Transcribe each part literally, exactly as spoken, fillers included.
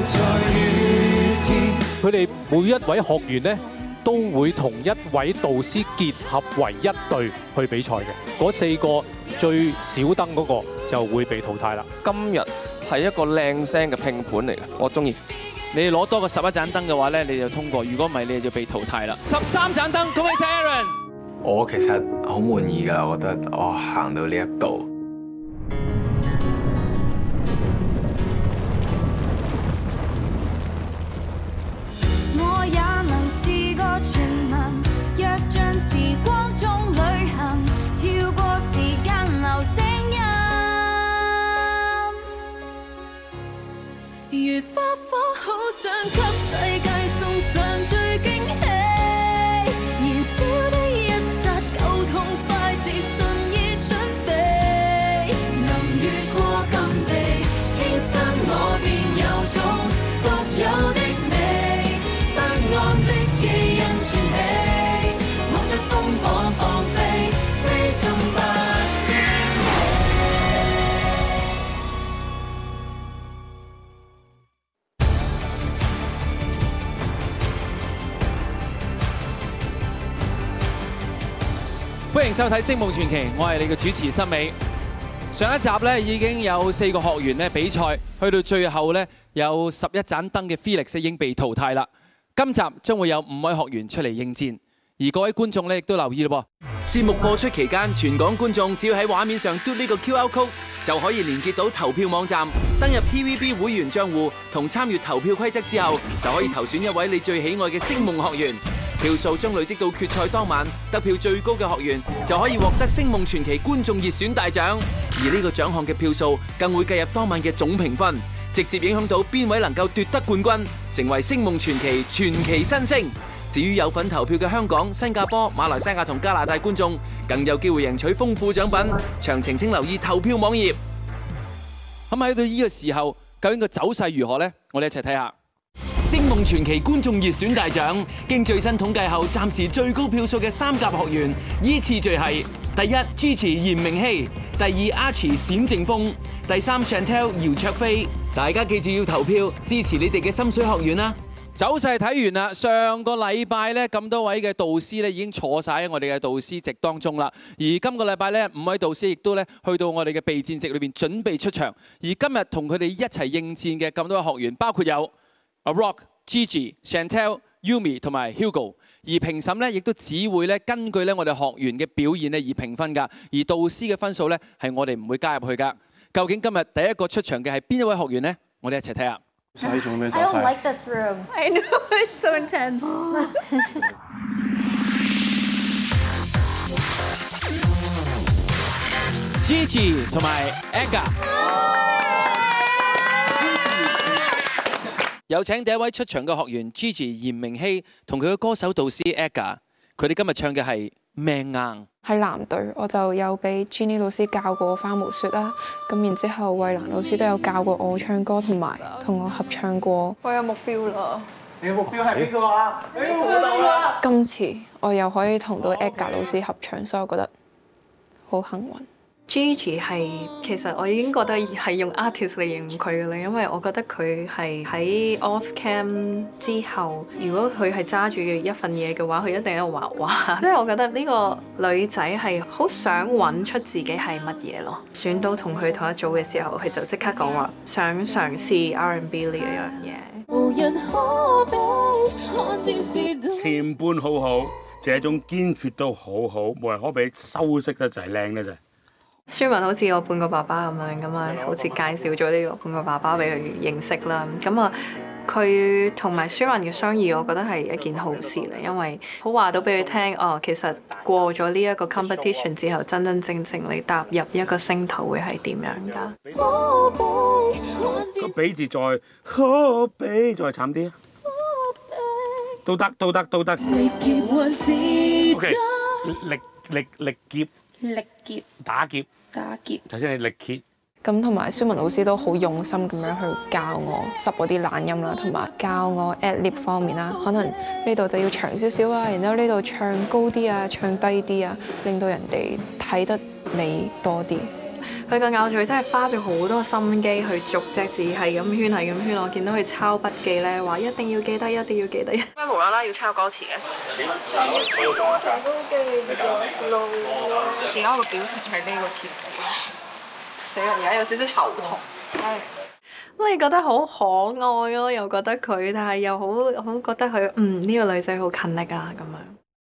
佢哋每一位學員呢，都會同一位導師結合為一隊去比賽嘅。嗰四個最少燈嗰個就會被淘汰啦。 今日係一個靚聲嘅拼盤嚟嘅，我中意。 你攞多個十一盞燈嘅話咧，你就通過；如果唔係，你就被淘汰啦。十三盞燈，恭喜晒 Aaron！ 我其實好滿意㗎，我覺得我行到呢一步。 我也能是個傳聞，躍進時光中旅行，跳過時間流聲音，如花火，好想給世界送上最驚喜，燃燒的一剎夠痛快，自信已準備，能越過禁地，天生我便有種獨有的美，不安的基因傳起，我在鬆綁放飛，飛進不知歡迎收睇《星夢傳奇》，我係你嘅主持森美。上一集咧已經有四個學員咧比賽，去到最後咧有十一盞燈嘅 Felix 已經被淘汰啦。今集將會有五位學員出嚟應戰，而各位觀眾咧亦都留意咯噃。節目播出期間，全港觀眾只要喺畫面上嘟呢個 Q R code 就可以連結到投票網站，登入 T V B 會員賬戶同參與投票規則之後，就可以投選一位你最喜愛嘅星夢學員。票數將累積到決賽當晚，得票最高嘅學員就可以獲得星夢傳奇觀眾熱選大獎，而呢個獎項嘅票數更會計入當晚嘅總評分，直接影響到邊位能夠奪得冠軍，成為星夢傳奇傳奇新星。至於有份投票嘅香港、新加坡、馬來西亞同加拿大觀眾，更有機會贏取豐富獎品。詳情請留意投票網頁。咁喺到呢個時候，究竟個走勢如何呢？我哋一齊睇下。星夢傳奇觀眾熱選大獎，經最新統計後，暫時最高票數嘅三甲學員依次序係：第一 Gigi 嚴明熙，第二 Archie 冼正峰，第三 Chantel 姚卓飛。大家記住要投票支持你哋嘅心水學員啦！走勢睇完啦，上個禮拜咧咁多位嘅導師咧已經坐晒喺我哋嘅導師席當中啦，而今個禮拜咧五位導師亦都咧去到我哋嘅備戰席裏邊準備出場，而今日同佢哋一齊應戰嘅咁多位學員，包括有阿 Rock、Gigi、Chantel、Yumi 同埋 Hugo， 而評審咧亦都只會咧根據咧我哋學員嘅表現咧而評分㗎，而導師嘅分數咧係我哋唔會加入去㗎。究竟今日第一個出場嘅係邊一位學員呢？我哋一齊睇下。 I don't like this room. I know, it's so intense. Gigi 同埋 Aga， 有請第一位出場嘅學員 Gigi 嚴明熙同佢嘅歌手導師 Aga， 佢哋今日唱嘅係命硬。 喺藍隊，我就有俾 Jenny 老師教過花無雪啦，咁然之後衛蘭老師都有教過我唱歌，同埋同我合唱過。我有目標啦！ 你嘅目標係邊個啊？你估到啦！ 今次我又可以同到 Edgar 老師合唱，所以我覺得好幸運。 Gigi 係其實我已經覺得係用 artist 嚟形容佢嘅啦，因為我覺得佢係喺 off cam 之後，如果佢係揸住一份嘢嘅話，佢一定喺度畫畫。即係我覺得呢個女仔係好想揾出自己係乜嘢咯。選到同佢同一組嘅時候，佢就即刻講話想嘗試 R and B 呢一樣嘢。 前半好好，這種堅決都好好，冇人可比，修飾得就係靚得滯。 舒文好似我半個爸爸咁樣，咁啊好似介紹咗呢個半個爸爸俾佢認識啦。咁啊，佢同埋舒文嘅相遇，我覺得係一件好事嚟，因為好話到俾佢聽，哦，其實過咗呢一個 competition 之後，真真正正你踏入一個星途會係點樣㗎？ 個比字再可比再慘啲啊！都得都得都得。OK， 力力力劫。 力劫。 打劫。 打劫。 頭先你力竭。 咁同埋舒文老師都好用心咁樣去教我執嗰啲懶音啦，同埋教我 ad lib 方面啦，可能呢度就要長少少啊，然之後呢度唱高啲啊，唱低啲啊，令到人哋睇得你多啲。 佢個咬字真係花咗好多心機去逐隻字係咁圈係咁圈。我見到佢抄筆記咧，話一定要記得，一定要記得。點解無啦啦要抄歌詞嘅？成日抄歌詞都記咗路。而家我個表情係呢個貼紙。死啦！而家有少少頭痛。咁你覺得好可愛咯，又覺得佢，但係又好好覺得佢，嗯呢、呢個女仔好勤力啊咁樣。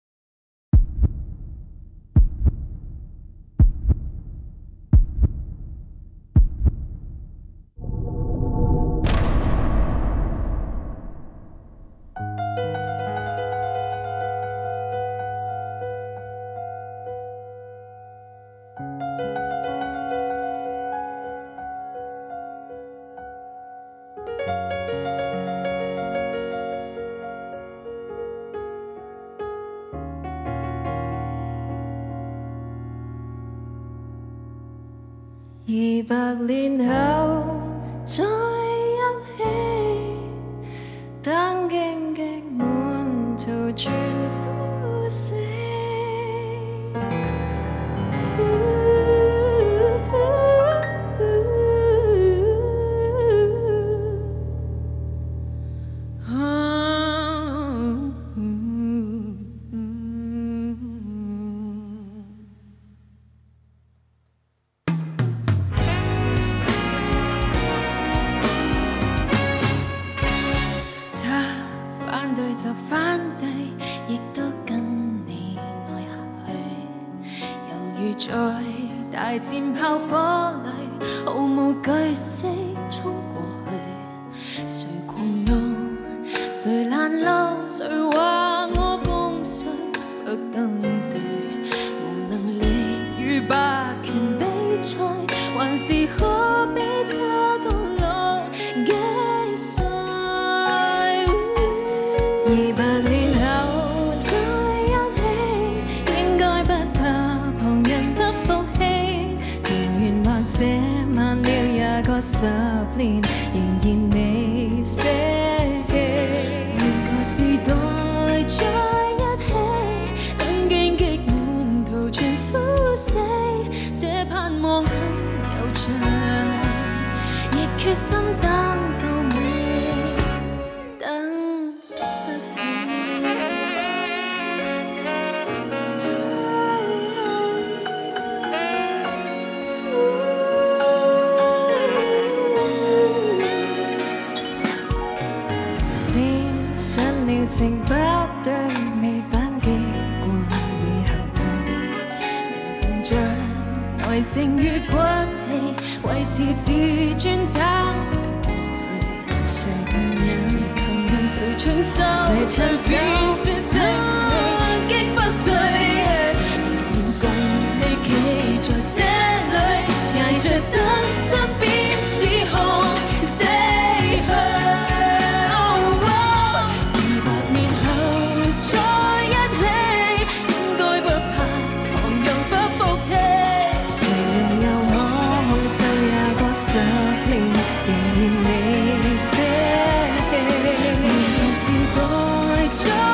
二百年後再一起，當荊棘滿途全枯死。大戰炮火裏，毫無懼色衝過去。誰狂怒，誰攔路，誰話我共誰不更對？無能力與霸權比賽，還是可比他到老幾歲？二百年後再一起，應該不怕旁人不服氣。這晚了也過十年，仍然未捨棄。換個時代再一起，等荊棘滿途全枯死。這盼望很悠長，亦決心等到尾，等不起。情不對，未反擊過已後退，仍憑着耐性與骨氣，維持自尊撐過去。誰強人，誰強人，誰長壽，誰長壽，誰生擊不碎，仍然共你企在這裏，捱着等身邊指控死去。時代再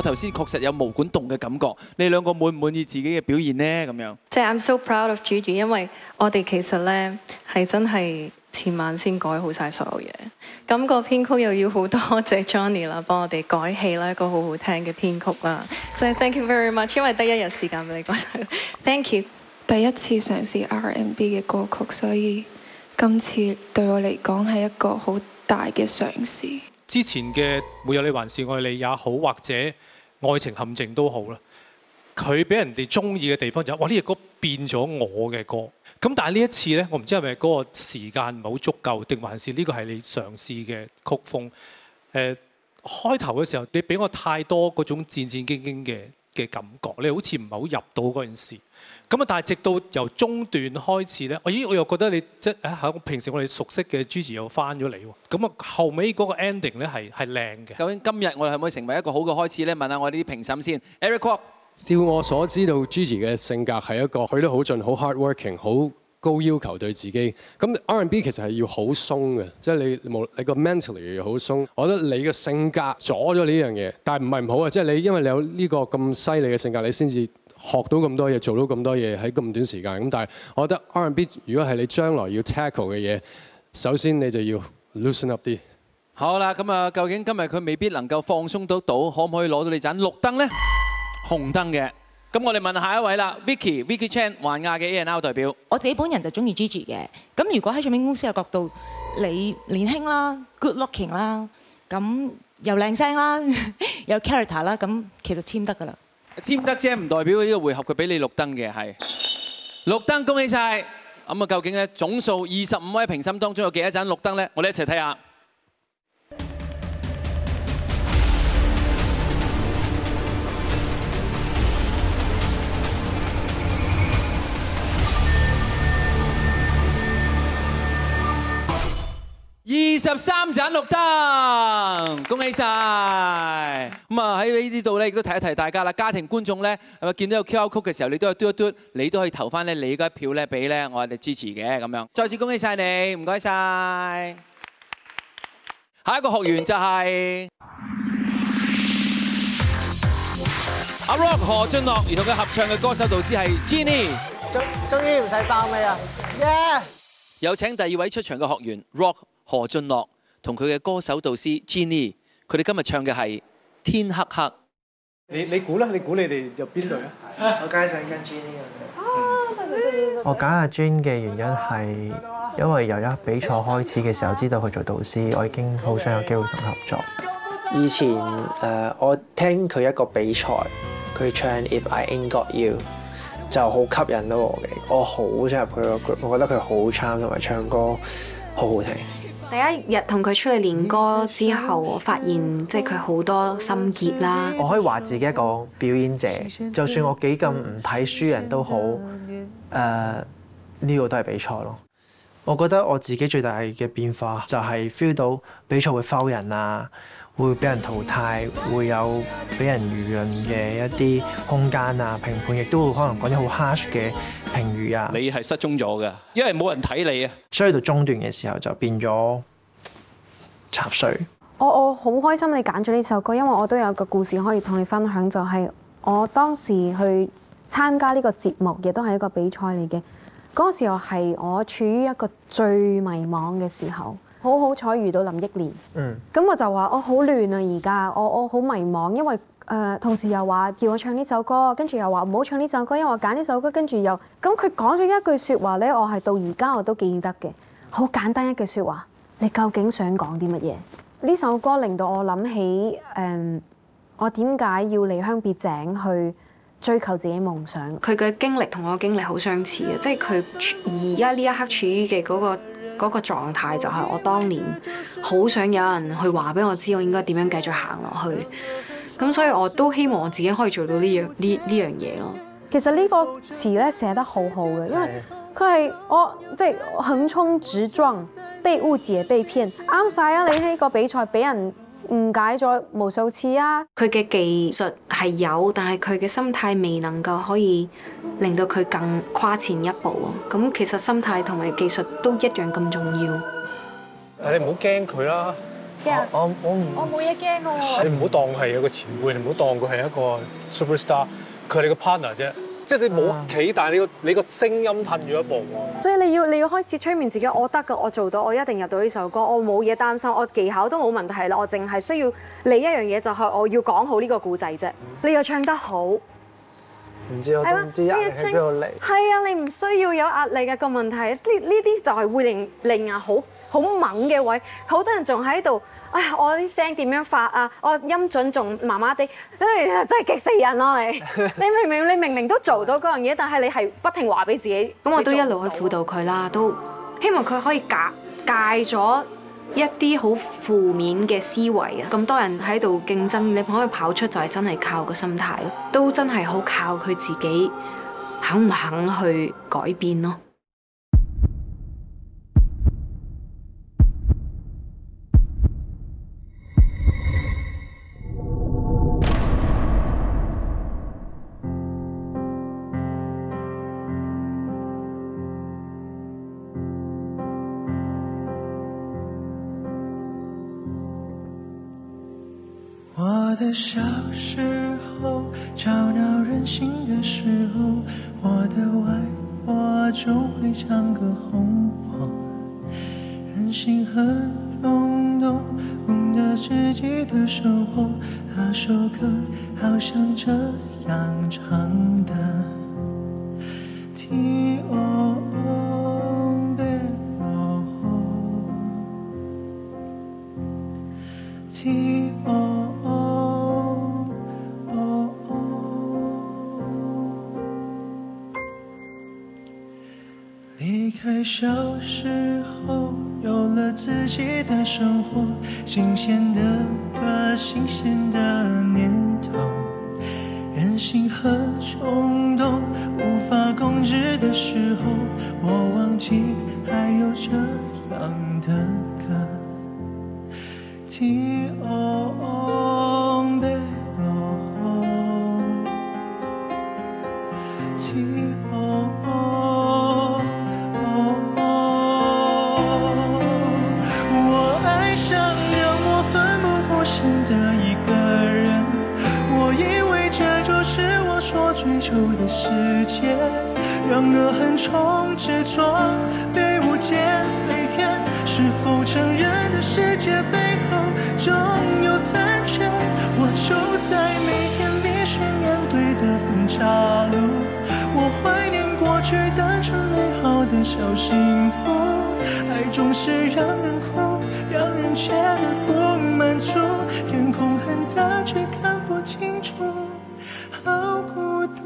我頭先確實有毛管動嘅感覺。你兩個滿唔滿意自己嘅表現呢？咁樣即係 I'm so proud of Gigi， 因為我哋其實咧係真係前晚先改好晒所有嘢。咁個編曲又要好多謝 Johnny 啦，幫我哋改戲啦，一個好好聽嘅編曲啦。即係 thank you very much， 因為得一日時間俾你講晒。Thank you。 第一次嘗試 R and B 嘅歌曲，所以今次對我嚟講係一個好大嘅嘗試。 之前嘅沒有你還是愛你也好，或者愛情陷阱都好啦，佢俾人哋中意嘅地方就係、哇呢隻歌變咗我嘅歌。咁但係呢一次呢，我唔知係咪嗰個時間唔係好足夠，定還是呢個係你嘗試嘅曲風？誒、呃、開頭嘅時候，你俾我太多嗰種戰戰兢兢嘅嘅感覺，你好似唔係好入到嗰件事。咁啊，但係直到由中段開始咧，我咦我又覺得你即係喺平時我哋熟悉嘅 Gigi 又翻咗嚟喎。咁啊，後尾嗰個 ending 咧係係靚嘅。 究竟今日我哋係咪可以成為一個好嘅開始咧？問下我哋啲評審先 ，Eric Kwok。 照我所知道 ，Gigi 嘅性格係一個去得好盡、好 hardworking、好高要求對自己。咁 R and B 其實係要好鬆嘅，即係你冇你個 mentally 要好鬆。我覺得你嘅性格阻咗呢樣嘢，但係唔係唔好啊！即係你因為你有呢個咁犀利嘅性格，你先至學到咁多嘢，做到咁多嘢喺咁短時間。咁但係我覺得 R and B 如果係你將來要 tackle 嘅嘢，首先你就要 loosen up 啲。 好啦，咁啊，究竟今日佢未必能夠放鬆得到，可唔可以攞到你盞綠燈呢？紅燈嘅。咁我哋問下一位啦 ，Vicky Vicky Chan 環亞嘅 A and R 代表。 我自己本人就中意 Gigi 嘅。咁如果喺唱片公司嘅角度，你年輕啦 ，good looking 啦，咁又靚聲啦，有 character 啦，咁其實簽得㗎啦。 簽得啫，唔代表呢個回合佢俾你綠燈嘅係綠燈，恭喜晒！咁啊，究竟咧總數二十五位評審當中有幾多盞綠燈咧？我哋一齊睇下。二十三盞綠燈，恭喜晒！咁啊喺呢度咧，亦都提一提大家啦。家庭觀眾咧，係咪見到有 Q R code 嘅時候，你都有嘟一嘟，你都可以投翻咧你嗰一票咧俾咧我哋支持嘅咁樣。再次恭喜晒你，唔該晒。下一個學員就係阿 Rock 何俊樂，而同佢合唱嘅歌手導師係 Jenny。 終終於唔使包尾啦，耶！ 有請第二位出場嘅學員 Rock 何俊樂同佢嘅歌手導師 Jenny， 佢哋今日唱嘅係《天黑黑》。 你你估啦？你估你哋入邊隊啊？ 我梗係想跟 Jenny 啊！我揀阿 Jenny 嘅原因係因為由一比賽開始嘅時候知道佢做導師，我已經好想有機會同佢合作。以前誒我聽佢一個比賽，佢唱《If I Ain't Got You》就好吸引到我嘅，我好想入佢個 group， 我覺得佢好 charm 同埋唱歌好好聽。 第一日同佢出嚟練歌之後，我發現即係佢好多心結啦。 我可以話自己一個表演者，就算我幾咁唔睇輸人都好，誒、呃、呢、這個都係比賽咯。我覺得我自己最大嘅變化就係 feel 到比賽會 foul 人啊，會俾人淘汰，會有俾人輿論嘅一啲空間啊，評判亦都會可能講啲好 harsh 嘅評語啊。 你係失蹤咗㗎，因為冇人睇你啊。 所以到中段嘅時候就變咗插水。 我我好開心你揀咗呢首歌，因為我都有個故事可以同你分享，就係我當時去參加呢個節目，亦都係一個比賽嚟嘅。嗰個時候係我處於一個最迷茫嘅時候，好好彩遇到林憶蓮。嗯。咁我就話我好亂啊，而家我我好迷茫，因為誒、呃、同時又話叫我唱呢首歌，跟住又話唔好唱呢首歌，因為我揀呢首歌，跟住又咁佢講咗一句説話咧，我係到而家我都記得嘅，好簡單一句説話，你究竟想講啲乜嘢？呢首歌令到我諗起誒、呃，我點解要離鄉別井去追求自己夢想？ 佢嘅經歷同我嘅經歷好相似嘅，即係佢而家呢一刻處於嘅嗰個嗰個狀態，就係我當年好想有人去話俾我知，我應該點樣繼續行落去。咁所以我都希望我自己可以做到呢樣呢呢樣嘢咯。 其實呢個詞咧寫得好好嘅，因為佢係我即係橫衝直撞，被誤解被騙，啱晒啊！你呢個比賽俾人誤解咗無數次啊！ 佢嘅技術係有，但係佢嘅心態未能夠可以令到佢更跨前一步啊！咁其實心態同埋技術都一樣咁重要。 但係你唔好驚佢啦， 驚？ 我我唔我冇嘢驚嘅喎。 你唔好當係一個前輩，你唔好當佢係一個 superstar，佢係你個 partner 啫。即係你冇企，但係你個你個聲音褪咗一步喎。 所以你要你要開始催眠自己，我得㗎，我做到，我一定入到呢首歌，我冇嘢擔心，我技巧都冇問題啦，我淨係需要你一樣嘢就係我要講好呢個故仔啫。你又唱得好，唔知我都唔知壓力喺邊度嚟。 係啊，你唔需要有壓力嘅個問題，呢呢啲就係會令令啊好好猛嘅位，好多人仲喺度。哎呀，我啲聲點樣發啊？我音準仲麻麻地，真係真係激死人咯！你你明明你明明都做到嗰樣嘢，但係你係不停話俾自己。 咁我都一路去輔導佢啦，都希望佢可以戒戒咗一啲好負面嘅思維啊！咁多人喺度競爭，你可以跑出就係真係靠個心態咯，都真係好靠佢自己肯唔肯去改變咯。 我的小时候，吵闹任性的时候，我的外婆总会唱歌哄我，任性和冲动，懂得自己的生活。那首歌好像这样唱的 Ti o bello Ti o离开小时候，有了自己的生活，新鲜的歌，新鲜的念头，任性和冲动无法控制的时候，我忘记还有这样的歌。Ti o bello Ti o的一个人，我以为这就是我所追求的世界，然而横冲直撞，被误解被骗，是否成人的世界背后总有残缺？我走在每天必须面对的分岔路，我怀念过去单纯美好的小幸福，爱总是让人哭，让人觉得不满足，天空很大却看不清楚，好孤独。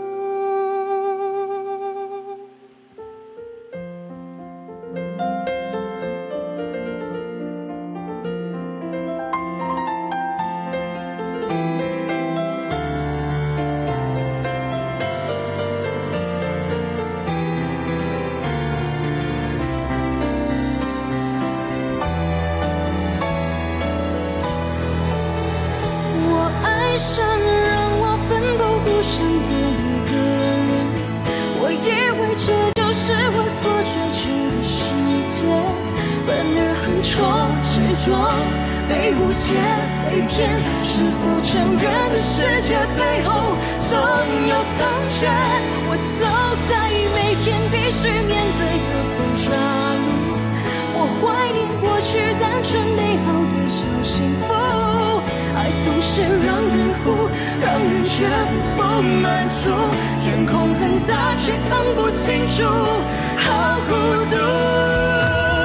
被误解被骗，是否成人的世界背后总有残缺？我走在每天必须面对的分岔路，我怀念过去单纯美好的小幸福，爱总是让人哭，让人觉得不满足，天空很大却看不清楚，好孤独。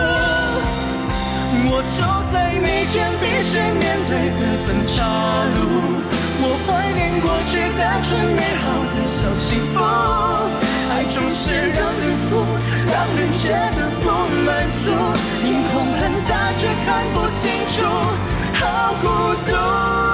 我走在每天必须面对的分岔路，我怀念过去单纯美好的小幸福，爱总是让人哭，让人觉得不满足，天空很大却看不清楚，好孤独。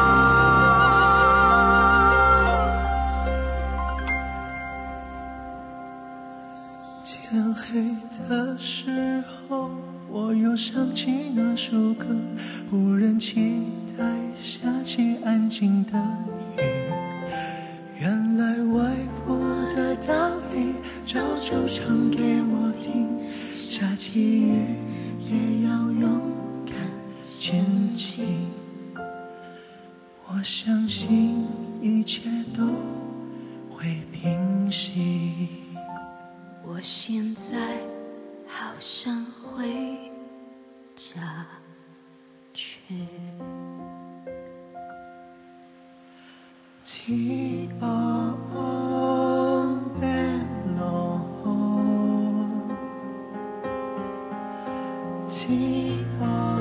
天黑的时候，我又想起那首歌，无人期待下起安静的雨。原来外婆的道理早就唱给我听，下起雨也要勇敢前相信一切都会平息。 我现在好想回家去。 Ti o bello, ti o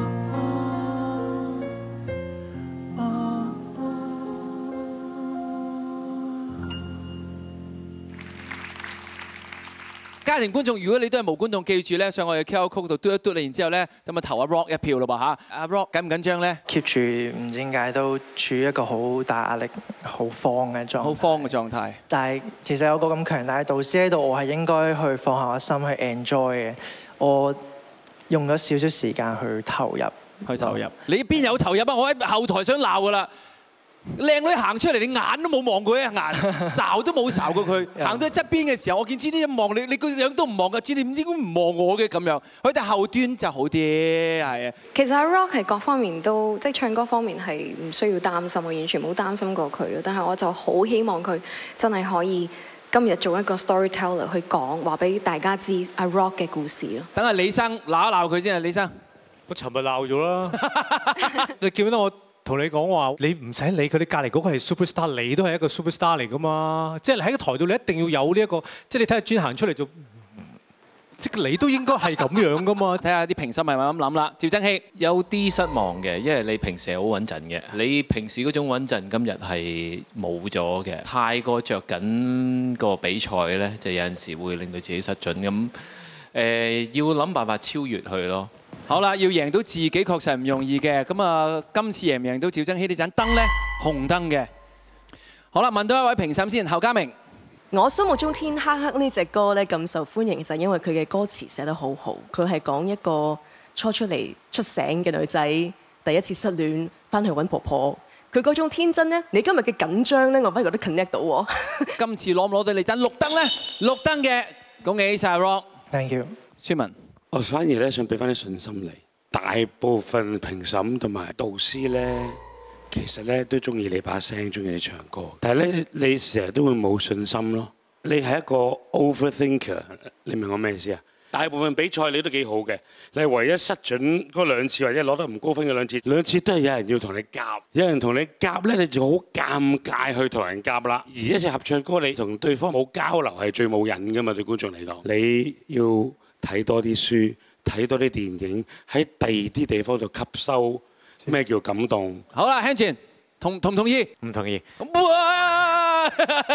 家庭觀眾，如果你都係無觀眾，記住咧，上我哋 Q R code 度嘟一嘟你，然之後咧咁啊投阿 Rock 一票咯噃嚇。阿 Rock 緊唔緊張咧 keep 住唔知點解都處於一個好大壓力、好慌嘅狀態。 好慌嘅狀態。 但係其實有個咁強大嘅導師喺度，我係應該去放下個心去 enjoy 嘅。我用咗少少時間去投入， 去投入。你邊有投入啊？我喺後台想鬧噶啦。靚女行出嚟，你眼都冇望過一眼，睄都冇睄過佢。行到喺側邊嘅時候，我見 Jenny 一望你，你個樣都唔望噶。Jenny 應該唔望我嘅咁樣。佢哋後端就好啲，係啊。 其實阿 Rock 係各方面都，即係唱歌方面係唔需要擔心，我完全冇擔心過佢。但係我就好希望佢真係可以今日做一個 storyteller 去講，話俾大家知阿 Rock 嘅故事咯。 等阿李生鬧一鬧佢先啊，李生。 我尋日鬧咗啦，你記唔記得我？同你講話，你唔使理佢，你隔離嗰個係 superstar， 你都係一個 superstar 嚟噶嘛。即係你喺個台度，你一定要有呢一個，即係你睇下專行出嚟做，即係你都應該係咁樣噶嘛。 睇下啲評審係咪咁諗啦。趙增熹有啲失望嘅，因為你平時係好穩陣嘅，你平時嗰種穩陣今日係冇咗嘅，太過着緊個比賽咧，就有陣時會令到自己失準咁。誒、呃，要諗辦法超越佢咯。 好啦，要贏到自己確實係唔容易嘅。咁啊，今次贏唔贏到趙增熹呢盞燈咧？紅燈嘅。好啦，問到一位評審先，侯家明。 我心目中《天黑黑》呢隻歌咧咁受歡迎，就係因為佢嘅歌詞寫得好好。佢係講一個初出嚟出醒嘅女仔，第一次失戀，翻去揾婆婆。佢嗰種天真咧，你今日嘅緊張咧，我反而覺得 connect 到喎。 今次攞唔攞到你盞綠燈咧？綠燈嘅，恭喜晒 Rock。Thank you。 宣文。 我反而咧想俾翻啲信心你，大部分評審同埋導師咧，其實咧都中意你把聲，中意你唱歌，但係咧你成日都會冇信心咯。你係一個 overthinker， 你明我咩意思啊？大部分比賽你都幾好嘅，你係唯一失準嗰兩次或者攞得唔高分嘅兩次，兩次都係有人要同你夾，有人同你夾咧，你就好尷尬去同人夾啦。而一隻合唱歌，你同對方冇交流係最冇癮噶嘛，對觀眾嚟講，你要睇多啲書，睇多啲電影，喺第二啲地方度吸收咩叫感動。 好啦 ，Hanjin 同同唔同意？ 唔同意。 哇！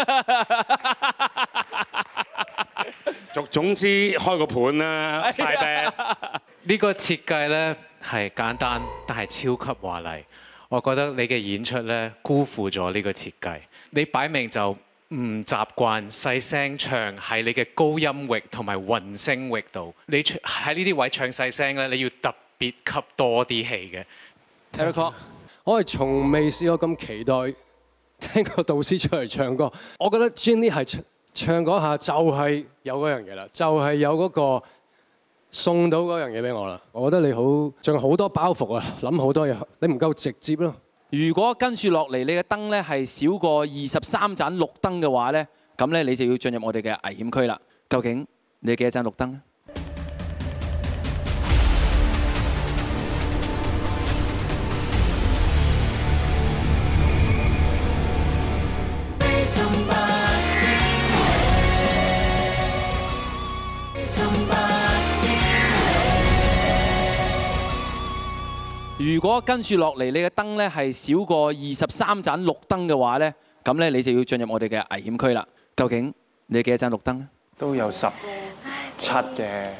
總總之開個盤啦，晒啤。 呢個設計咧係簡單，但係超級華麗。我覺得你嘅演出咧辜負咗呢個設計。你擺明就唔習慣細聲唱喺你嘅高音域同埋混聲域度，你喺呢啲位唱細聲咧，你要特別吸多啲氣嘅。 Eric， 我係從未試過咁期待聽個導師出嚟唱歌。我覺得 Jenny 係唱唱嗰下就係有嗰樣嘢啦，就係有嗰個送到嗰樣嘢俾我啦。我覺得你好仲有好多包袱啊，諗好多嘢，你唔夠直接咯。 如果跟住落嚟，你嘅燈咧係少過二十三盞綠燈嘅話咧，咁咧你就要進入我哋嘅危險區啦。究竟你幾多盞綠燈咧？如果跟住落嚟，你嘅燈咧係少過二十三盞綠燈嘅話咧，咁咧你就要進入我哋嘅危險區啦。究竟你幾多盞綠燈咧？ 都有十七嘅。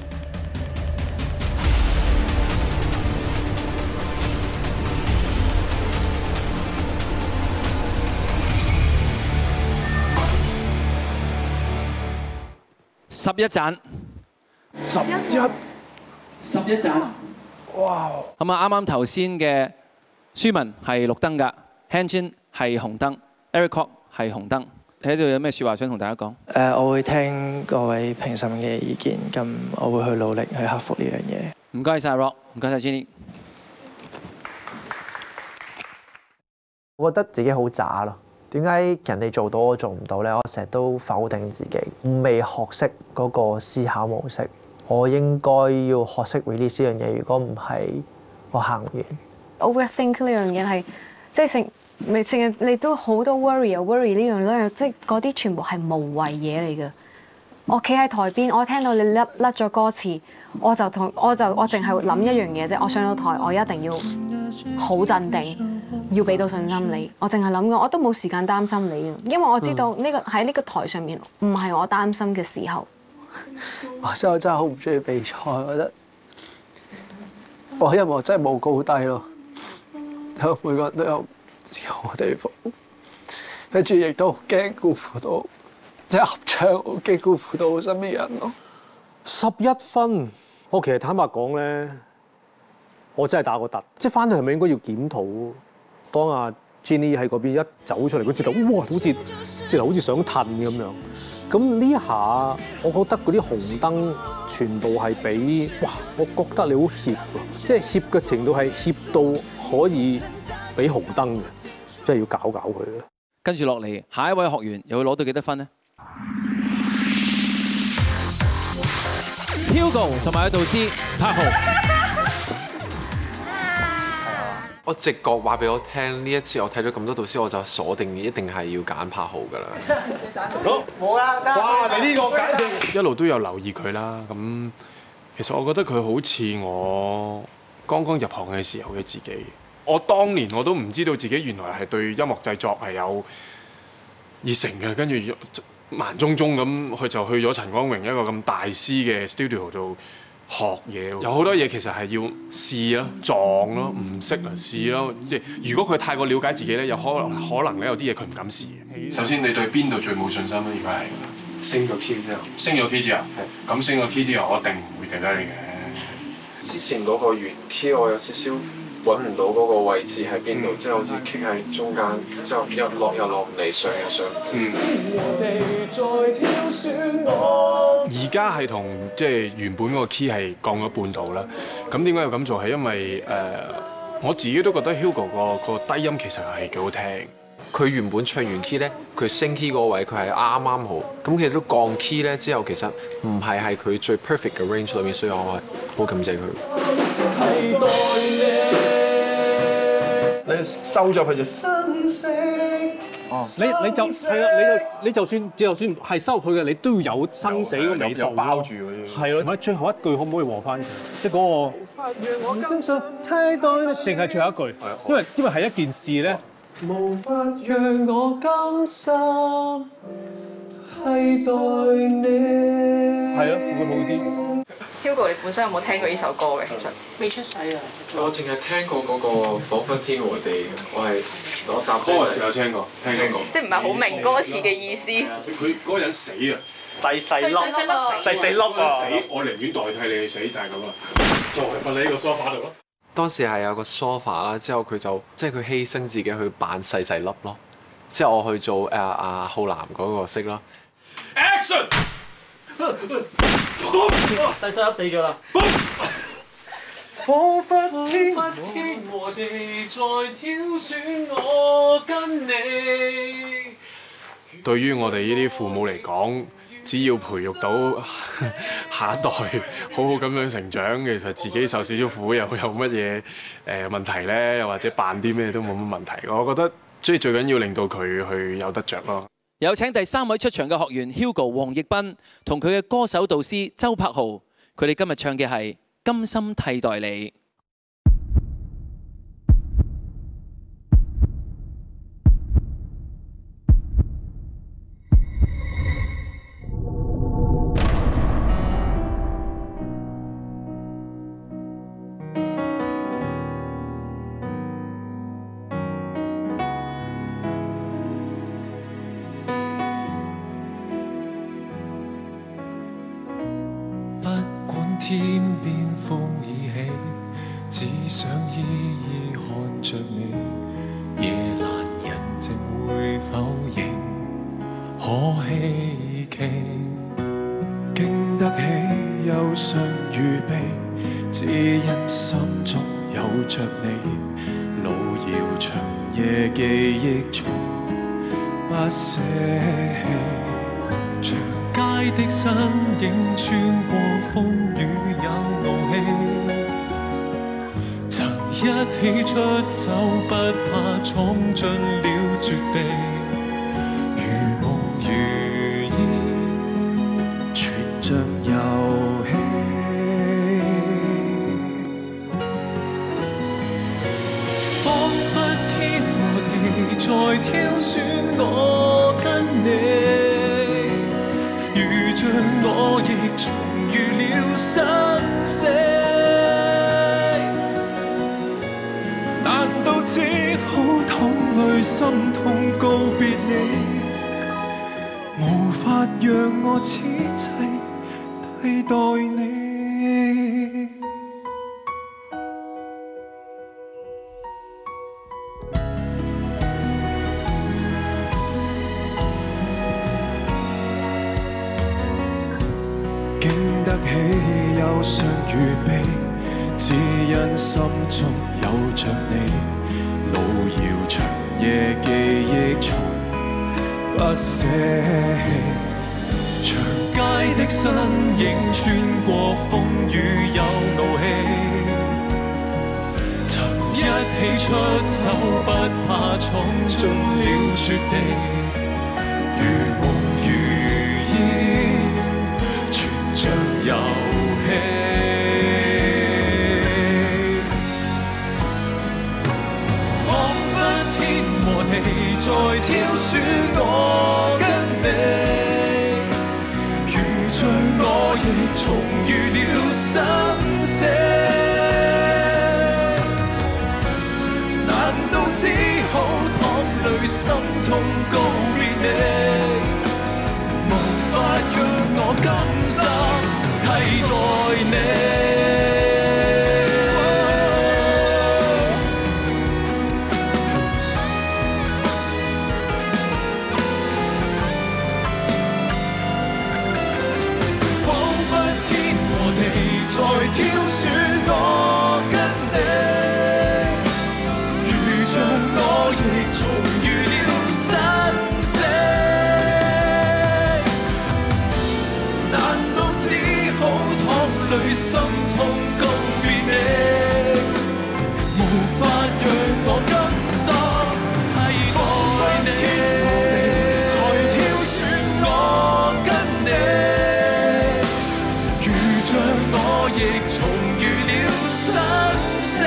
十一盞。 十一。 十一盞。哇！咁啊，啱啱頭先嘅舒文係綠燈㗎 ，Hanjin 係紅燈 ，Eric Kwok 係紅燈。你喺度有咩説話想同大家講？ 誒，我會聽各位評審嘅意見，咁我會去努力去克服呢樣嘢。 唔該晒 Rock，唔該晒 Jenny。 我覺得自己好渣咯。點解人哋做到我做唔到咧？我成日都否定自己，未學識嗰個思考模式。我應該要學識 release 呢樣嘢，如果唔係，我行唔完。 Overthink 呢樣嘢係即係成咪成日你都好多 worry 啊 worry 呢樣咧，即係嗰啲全部係無謂嘢嚟嘅。我企喺台邊，我聽到你甩甩咗歌詞，我就同我就我淨係諗一樣嘢啫。我上到台，我一定要好鎮定，要俾到信心你。我淨係諗嘅，我都冇時間擔心你，因為我知道呢個喺呢個台上面唔係我擔心嘅時候。 我真係真係好唔中意比賽，我覺得我音樂真係冇高低咯，每個人都有自己好嘅地方，跟住亦都好驚辜負到。即係合唱，好驚辜負到我身邊人咯。 十一分，我其實坦白講咧，我真係打個突。即係翻去係咪應該要檢討？當阿 Jenny 喺嗰邊一走出嚟，佢直頭哇，好似直頭好似想褪咁樣。咁呢一下，我覺得嗰啲紅燈全部係俾哇，我覺得你好怯喎，即係怯嘅程度係怯到可以俾紅燈嘅，即係要搞搞佢啦。 跟住落嚟，下一位學員又會攞到幾多分呢？ Hugo 同埋佢導師柏豪， 我直覺話俾我聽，呢一次我睇咗咁多導師，我就鎖定一定係要揀柏豪㗎啦。 好，冇啦，哇！你呢個簡直一路都有留意佢啦。咁其實我覺得佢好似我剛剛入行嘅時候嘅自己。我當年我都唔知道自己原來係對音樂製作係有熱誠嘅，跟住慢中中咁，佢就去咗陳光榮一個咁大師嘅 studio 度學嘢。有好多嘢其實係要試咯、撞咯、唔識啊試咯。即係如果佢太過了解自己咧，有可能可能咧有啲嘢佢唔敢試。首先你對邊度最冇信心咧？如果係升咗 key 之後，升咗 key 之後，咁升咗 key 之後，我一定唔會掉低你嘅。 之前嗰個原 key 我有少少揾唔到嗰個位置喺邊度，即係好似傾喺中間，之後又落又落唔嚟，上又上唔嚟。 而家係同即係原本嗰個 key 係降咗半度啦。咁點解要咁做？係因為誒、呃、我自己都覺得 Hugo 個個低音其實係幾好聽。 佢原本唱完 key 咧，佢升 key 嗰個位佢係啱啱好。咁其實都降 key 咧之後，其實唔係係佢最 perfect 嘅 range 裏面，所以我係好感謝佢。 你收咗佢就生死。哦，你你就係啊！你就你就算就算係收佢嘅，你都要有生死嘅味道包住嗰啲。係咯，同埋最後一句可唔可以和翻佢？即係嗰個唔真實太多咧，淨係最後一句。因為因為係一件事咧。無法讓我甘心替代你。係啊，會好啲。 Hugo，你本身有冇聽過呢首歌嘅？其實未出世啊。 我淨係聽過嗰個彷彿天和地，我係我搭歌嗰時有聽過，聽過。 即係唔係好明歌詞嘅意思？ 佢嗰個人死啊！ 細細粒，細細粒啊！ 死，我寧願代替你去死，就係咁啊！就係瞓喺呢個 sofa 度咯。 當時係有個 sofa 啦，之後佢就即係佢犧牲自己去扮細細粒咯，之後我去做誒阿浩南嗰個色咯。Action！ 細細粒死咗啦！ 彷彿天和地在挑選我跟你。 對於我哋呢啲父母嚟講，只要培育到下一代好好咁樣成長，其實自己受少少苦又有乜嘢誒問題咧？又或者扮啲咩都冇乜問題。我覺得即係最緊要令到佢去有得着咯。 有請第三位出場嘅學員 Hugo 黃奕斌同佢嘅歌手導師周柏豪，佢哋今日唱嘅係《甘心替代你》。 天邊風已起，只想依依看着你。夜闌人靜會否仍可希冀？經得起憂傷與悲，只因心中有着你。路遙長夜記憶從不捨棄。 長街的身影穿過風雨有怒氣，曾一起出走不怕闖進了絕地，如夢如煙， 全像遊戲。 彷彿天和地在挑選我跟你，如像我亦重遇了生死，難道只好淌淚心痛告別你？無法讓我此際替代你。 經得起憂傷與悲，只因心中有着你。路遙長夜記憶從不捨棄。 長街的身影穿過風雨有怒氣，曾一起出走不怕闖進了絕地，如夢如煙，全像遊戲。彷彿天和地在挑選我跟你，像我亦重遇了生死，難道只好淌淚心痛告別你？無法讓我甘心替代你。在挑選我跟你，如像我亦重遇了生死，難道只好淌淚心痛告別你？無法讓我甘心替代你。在挑選我跟你，如像我亦重遇了生死，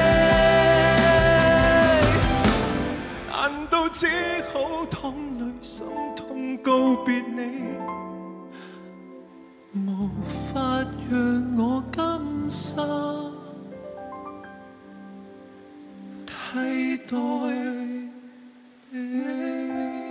難道只好淌淚心痛告別你？無法讓我甘心替代你。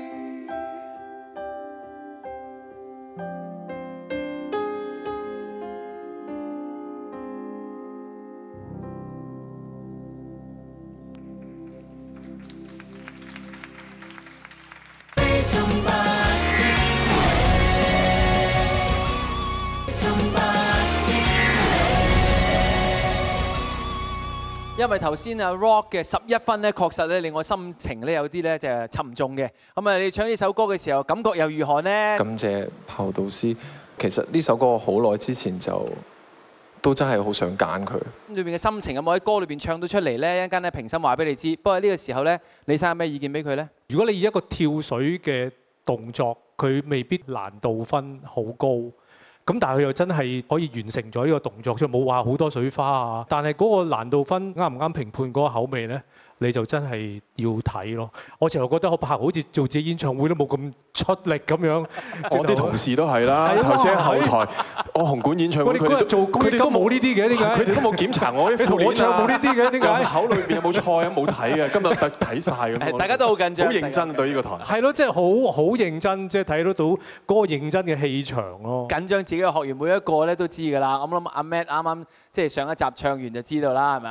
因為頭先啊 Rock 嘅十一分咧，確實咧令我心情咧有啲咧就係沉重嘅。咁啊，你唱呢首歌嘅時候，感覺又如何呢？ 感謝炮導師，其實呢首歌好耐之前就都真係好想揀佢。 裏邊嘅心情有冇喺歌裏邊唱到出嚟呢？一陣間咧評審話俾你知。不過呢個時候咧，李生有咩意見俾佢呢？ 如果你以一個跳水嘅動作，佢未必難度分好高。咁但係佢又真係可以完成咗呢個動作，所以冇話好多水花啊。但係嗰個難度分啱唔啱評判嗰個口味呢？你就真係要睇咯。我成日覺得我拍好似做自己演唱會都冇咁出力咁樣。 我啲同事都係啦，頭先喺後台，我紅館演唱會佢哋做，佢哋都冇呢啲嘅，點解？ 佢哋都冇檢查我啲副我唱冇呢啲嘅，點解？ 口裏邊有冇菜啊？冇睇嘅，今日睇晒咁。 大家都好緊張， 好認真對呢個台。 係咯，即係好好認真，即係睇得到嗰個認真嘅氣場咯。 緊張自己嘅學員每一個咧都知㗎啦。我諗阿 Matt 啱啱即係上一集唱完就知道啦，係咪阿 Matt？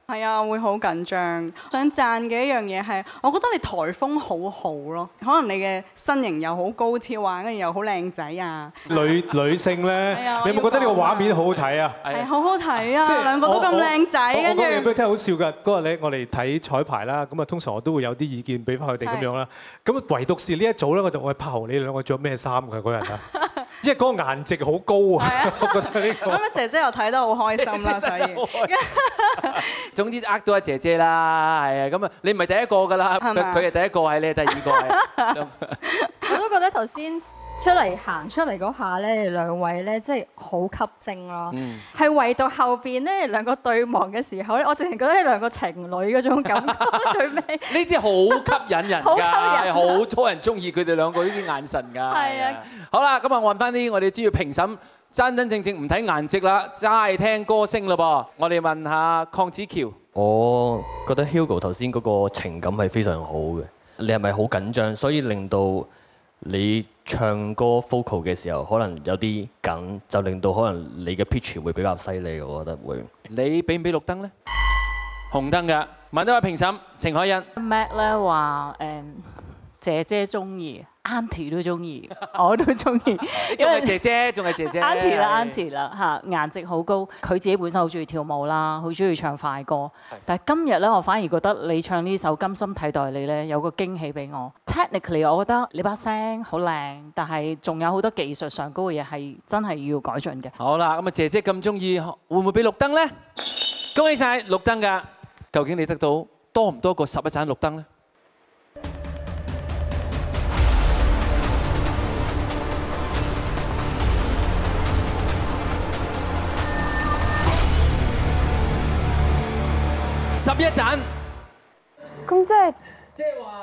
係啊，會好緊張。想讚嘅一樣嘢係，我覺得你颱風好好咯。可能你嘅身形又好高挑啊，跟住又好靚仔啊。 女女性咧，你有冇覺得呢個畫面好好睇啊？ 係好好睇啊！兩個都咁靚仔， 我跟住講嘢俾你聽好笑㗎。嗰日咧，我哋睇彩排啦，咁啊通常我都會有啲意見俾翻佢哋咁樣啦。咁唯獨是呢一組咧，我就我係柏豪，你兩個着咩衫㗎嗰日啊？因為嗰個顏值好高啊！我覺得呢個。 咁姐姐又睇得好開心啦，所以。 總之呃到阿姐姐啦，係啊，咁啊，你唔係第一個㗎啦，佢佢係第一個，係你係第二個係。 我都覺得頭先出嚟行出嚟嗰下咧，兩位咧即係好吸睛咯。係唯獨後邊咧兩個對望嘅時候咧，我淨係覺得呢兩個情侶嗰種感覺最尾。 呢啲好吸引人㗎，係好多人中意佢哋兩個呢啲眼神㗎。係啊。好啦，咁啊，我問翻啲我哋主要評審。真真正正唔睇顏值啦，齋聽歌聲嘞噃。我哋問下鄺子喬， 我覺得 Hugo 頭先嗰個情感係非常好嘅。你係咪好緊張，所以令到你唱歌 vocal 嘅時候可能有啲緊，就令到可能你嘅 pitch 會比較犀利，我覺得會。 你俾唔俾綠燈咧？紅燈嘅。問多位評審，程海欣。 Mac 咧話誒姐姐中意。Auntie 都中意，我都中意。 仲係姐姐，仲係姐姐。 Auntie 啦，Auntie 啦嚇，顏值好高。佢自己本身好中意跳舞啦，好中意唱快歌。但係今日咧，我反而覺得你唱呢首《甘心替代你》咧，有個驚喜俾我。Technically， 我覺得你把聲好靚，但係仲有好多技術上高嘅嘢係真係要改進嘅。 好啦，咁啊，姐姐咁中意，會唔會俾綠燈咧？恭喜晒綠燈㗎！究竟你得到多唔多過十一盞綠燈咧？十一盞， 咁即係即係話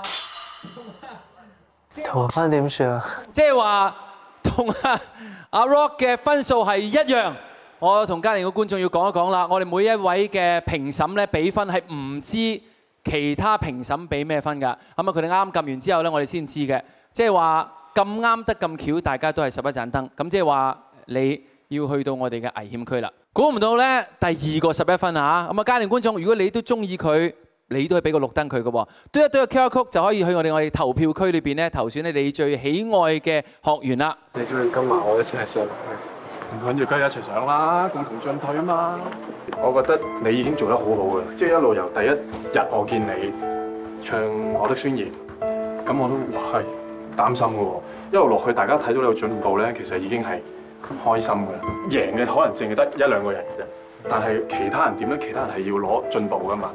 同分點算啊？ 即係話同阿阿 Rock 嘅分數係一樣。我同家庭嘅觀眾要講一講啦，我哋每一位嘅評審咧俾分係唔知其他評審俾咩分㗎。咁啊，佢哋啱啱撳完之後咧，我哋先知嘅。即係話咁啱得咁巧，大家都係十一盞燈。咁即係話你要去到我哋嘅危險區啦。估唔到咧，第二個十一分啊！咁啊，家庭觀眾，如果你都中意佢，你都可以俾個綠燈佢嘅喎。嘟一嘟個 Q R code就可以去我哋我哋投票區裏邊咧投選咧你最喜愛嘅學員啦。 你中意今晚我一齊上，唔緊要，梗係一齊上啦，共同進退啊嘛。我覺得你已經做得好好嘅，即係一路由第一日我見你唱《我的宣言》，咁我都係擔心嘅喎。一路落去，大家睇到你有進步咧，其實已經係開心嘅，贏嘅可能淨係得一兩個人嘅啫，但係其他人點咧？其他人係要攞進步噶嘛。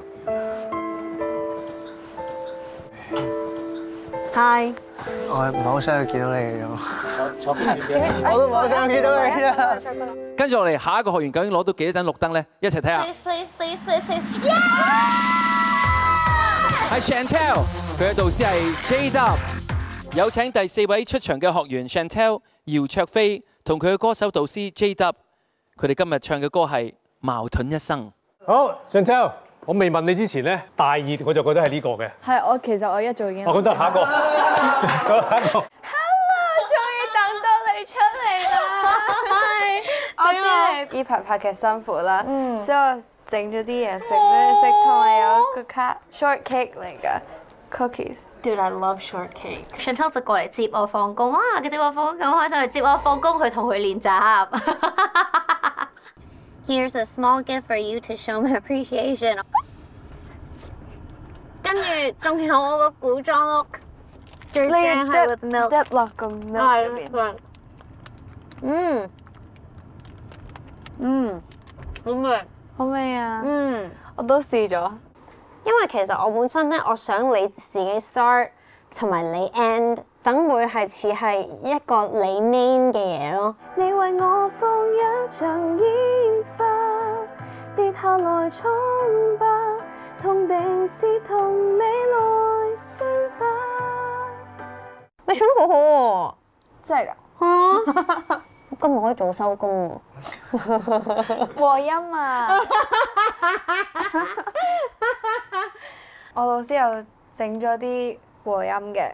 Hi， 我係唔係好想見到你嘅咁。 我都唔係好想見到你啊！跟住落嚟，下一個學員究竟攞到幾多盞綠燈咧？一齊睇下。係 Chantel，佢嘅導師係 J W。有請第四位出場嘅學員 Chantel 姚焯菲。同佢嘅歌手導師 J W， 佢哋今日唱嘅歌係《矛盾一生》。 好 ，Chantel， 我未問你之前咧，大熱我就覺得係呢個嘅。 係我其實我一早已經。 我覺得下一個，下一個。 Hello， 終於等到你出嚟啦！係，我知你呢排拍劇辛苦啦，所以我整咗啲嘢食俾你食，同埋有個卡 shortcake 嚟㗎。Cookies，Dude, I love shortcake. Chantel 就過嚟接我放工，哇！佢接我放工咁開心，去接我放工去同佢練習。Here's a small gift for you to show my appreciation. 跟住仲有我個古裝 look， 最正係 with milk， dip 落個 milk 入邊。 嗯，嗯，好味， 好味啊！ 嗯， 我都試咗。 因為其實我本身咧，我想你自己 start 同埋你 end， 等會係似係一個你 main 嘅嘢咯。 你為我放一場煙花，跌下來瘡疤，痛定是同未來傷疤。 你唱得好好喎！ 真係㗎？ 係啊！今日可以早收工喎。 和音啊！我老師又整咗啲和音嘅。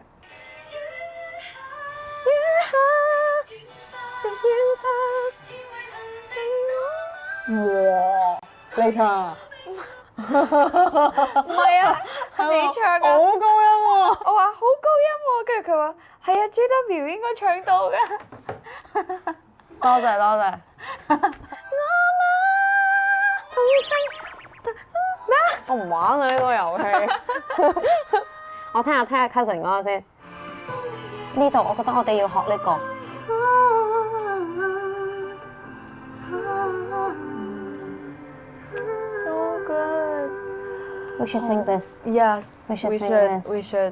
哇！你唱唔係啊，你唱㗎， 好高音喎！ 我話好高音喎，跟住佢話係啊 ，J W 應該唱到㗎。 多謝多謝。 我唔玩啊呢個遊戲。我聽下聽下 cousin 嗰個先。呢度我覺得我哋要學呢個。 So good. We should sing this. Yes. We should we sing should. this. We should.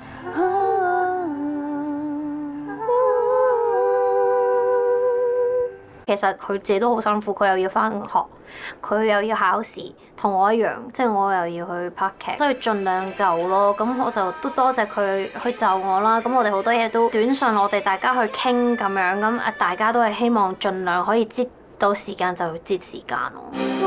其實佢自己都好辛苦，佢又要返學，佢又要考試，同我一樣，即係我又要去拍劇，都要盡量就咯。咁我就都多謝佢去就我啦。咁我哋好多嘢都短信，我哋大家去傾咁樣，咁誒大家都係希望盡量可以擠到時間就擠時間咯。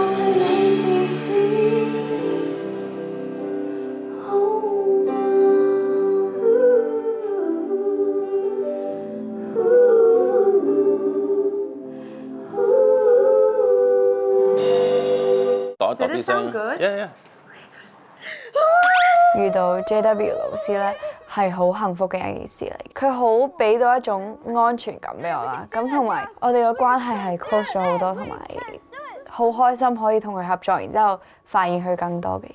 度啲聲。Yeah, yeah. 遇到 J W 老師咧係好幸福嘅一件事嚟，佢好俾到一種安全感俾我啦。咁同埋我哋嘅關係係 close 咗好多，同埋好開心可以同佢合作，然之後發現佢更多嘅嘢。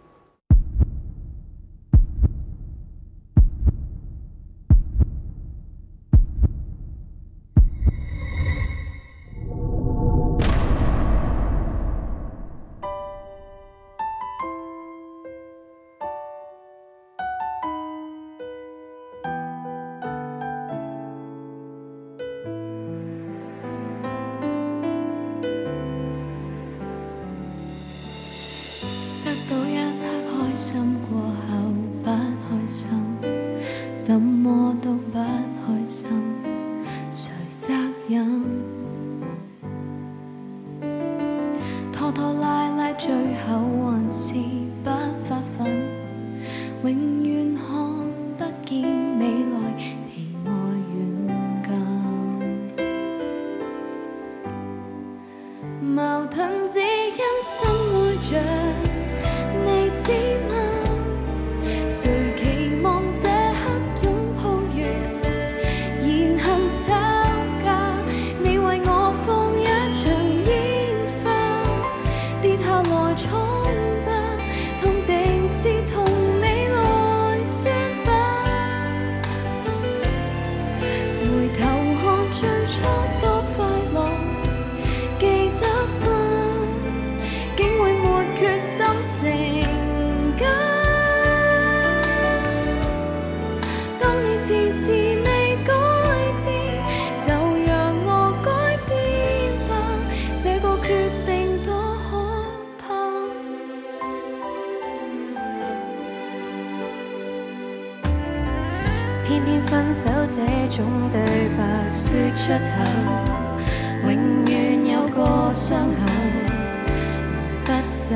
偏偏分手這種對白說出口，永遠有個傷口不走。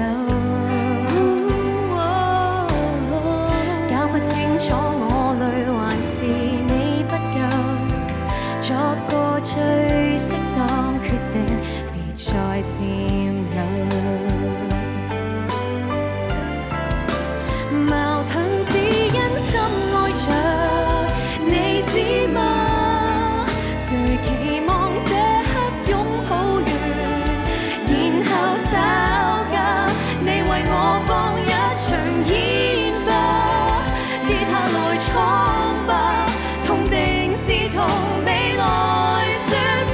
搞不清楚我累還是你不夠，作個最適當決定，別再佔有。矛盾只因深愛着，你知嗎？誰期望這刻擁抱完，然後吵架？你為我放一場煙花，跌下來闖吧，痛定是痛，未來説。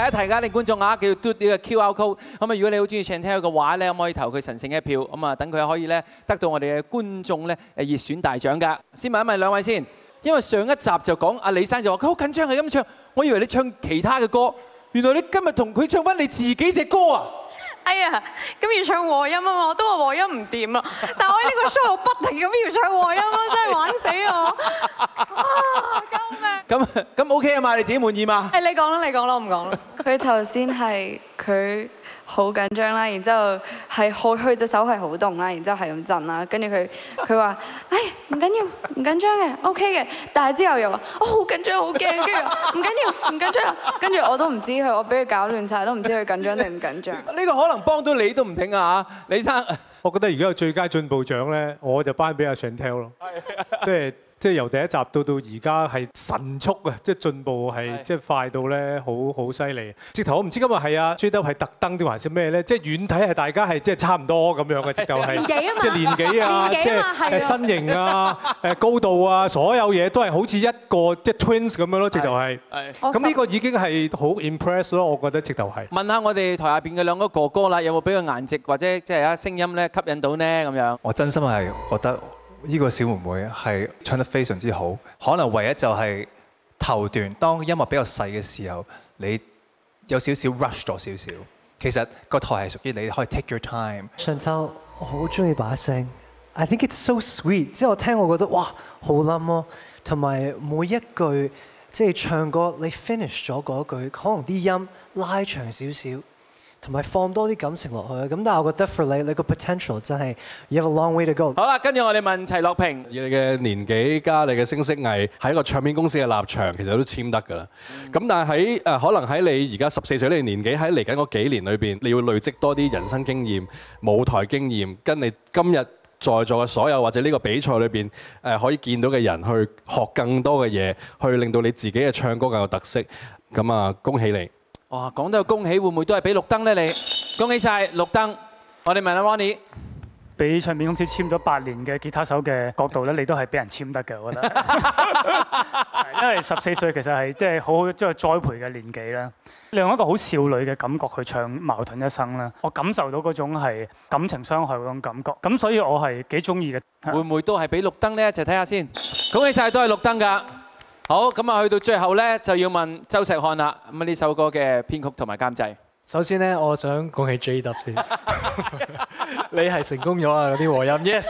一提㗎，你觀眾啊，叫嘟呢個 Q R code。咁啊，如果你好中意 Chantel 嘅話咧，咁可以投佢神聖一票。咁啊，等佢可以咧得到我哋嘅觀眾咧誒熱選大獎㗎。先問一問兩位先，因為上一集就講阿李生就話佢好緊張係咁唱，我以為你唱其他嘅歌，原來你今日同佢唱翻你自己隻歌啊！ 哎呀，咁要唱和音啊嘛，我都話和音唔掂啊，但係我呢個 show 不停咁要唱和音咯，真係玩死我！啊，救命！ 咁咁 OK 啊嘛，你自己滿意嘛？ 誒，你講啦，你講啦，我唔講啦。 佢頭先係佢好緊張啦，然之後係好佢隻手係好凍啦，然之後係咁震啦，跟住佢佢話：誒唔緊要，唔緊張嘅 ，OK 嘅。但係之後又話：我好緊張，好驚，跟住唔緊要，唔緊張啦。跟住我都唔知佢，我俾佢搞亂晒，都唔知佢緊張定唔緊張。 呢個可能幫到你都唔定啊嚇，李生。 我覺得如果有最佳進步獎咧，我就頒俾阿 Chantel 咯，即係。即係由第一集到到而家係神速啊！即係進步係即係快到咧，好好犀利。直頭我唔知今日係啊 J W 係特登定還是咩咧？即係遠睇係大家係即係差唔多咁樣嘅，直頭係即係年紀啊，即係誒身形啊、誒高度啊，所有嘢都係好似一個即係 twins 咁樣咯，直頭係。咁呢個已經係好 impress 咯，我覺得直頭係。 問下我哋台下邊嘅兩個哥哥啦，有冇俾個顏值或者即係啊聲音咧吸引到呢？咁樣？ 我真心係覺得。呢個小妹妹係唱得非常之好，可能唯一就係頭段，當音樂比較細嘅時候，你有少少 rush 咗少少。其實個台係屬於你，可以 take your time。 Chantel，我好中意把聲 ，I think it's so sweet。即係我聽我覺得哇好冧咯，同埋每一句即係唱歌你 finish 咗嗰句，可能啲音拉長少少。同埋放多啲感情落去，咁但係我覺得 for 你，你個 potential 真係 you have a long way to go。 好啦，跟住我哋問齊樂平， 以你嘅年紀加你嘅聲色藝，喺一個唱片公司嘅立場，其實都簽得㗎啦。咁但係喺誒可能喺你而家十四歲呢個年紀，喺嚟緊嗰幾年裏邊，你要累積多啲人生經驗、舞台經驗，跟你今日在座嘅所有或者呢個比賽裏邊誒可以見到嘅人，去學更多嘅嘢，去令到你自己嘅唱歌更有特色。咁啊，恭喜你！ 哇，講到恭喜，會唔會都係俾綠燈咧？你恭喜晒綠燈！我哋問下 Ronnie， 俾唱片公司簽咗八年嘅吉他手嘅角度咧，你都係俾人簽得嘅，我覺得。因為十四歲其實係即係好好即係栽培嘅年紀啦。你用一個好少女嘅感覺去唱《矛盾一生》啦，我感受到嗰種係感情傷害嗰種感覺，咁所以我係幾中意嘅。 會唔會都係俾綠燈咧？一齊睇下先。恭喜晒，都係綠燈㗎。好，咁啊，去到最後咧，就要問周石漢啦。咁啊，呢首歌嘅編曲同埋監製。 首先咧，我想恭喜 J W 先，你係成功咗啊！嗰啲和音 ，yes。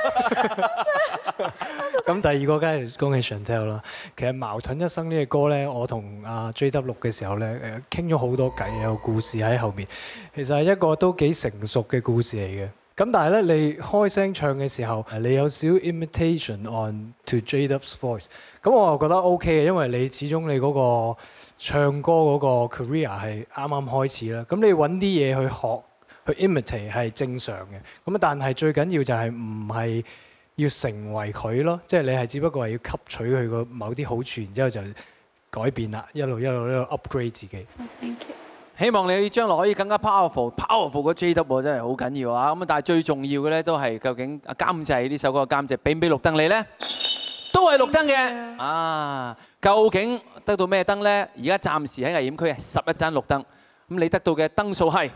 咁第二個梗係恭喜 Chantel 啦。其實《矛盾一生》呢個歌咧，我同阿 J W 錄嘅時候咧，誒傾咗好多偈，有故事喺後面。其實係一個都幾成熟嘅故事嚟嘅。咁但係咧，你開聲唱嘅時候，你有少 imitation on to J W's voice。咁我又覺得 OK 嘅，因為你始終你嗰個唱歌嗰個 career 係啱啱開始啦。咁你揾啲嘢去學，去 imitate 係正常嘅。咁但係最緊要就係唔係要成為佢咯，即係你係只不過係要吸取佢個某啲好處，然之後就改變啦，一路一路一路 upgrade 自己。 Thank you。希望你將來可以更加 powerful，powerful 個 J W 真係好緊要啊！咁但係最重要嘅咧都係究竟監製呢首歌嘅監製俾唔俾綠燈你咧？都係綠燈嘅啊！究竟得到咩燈咧？而家暫時喺危險區係十一盞綠燈，咁你得到嘅燈數係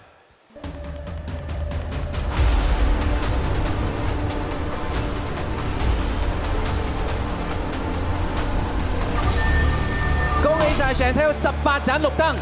恭喜晒 Chantel 十八盞綠燈。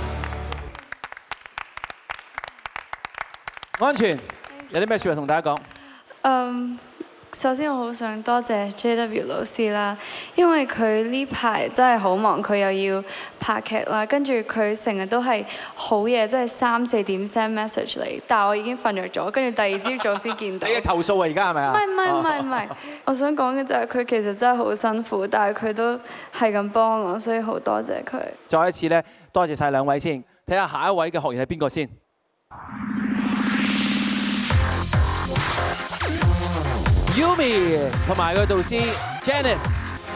安全有啲咩説話同大家講？ 嗯，首先我好想多謝 J W 老師啦，因為佢呢排真係好忙，佢又要拍劇啦，跟住佢成日都係好夜，即係三四點 send message 嚟，但係我已經瞓着咗，跟住第二朝早先見到。 你嘅投訴啊，而家係咪啊？ 唔係唔係唔係唔係，我想講嘅就係佢其實真係好辛苦，但係佢都係咁幫我，所以好多謝佢。 再一次咧，多謝晒兩位先，睇下下一位嘅學員係邊個先。Yumi 同埋佢導師 Janice，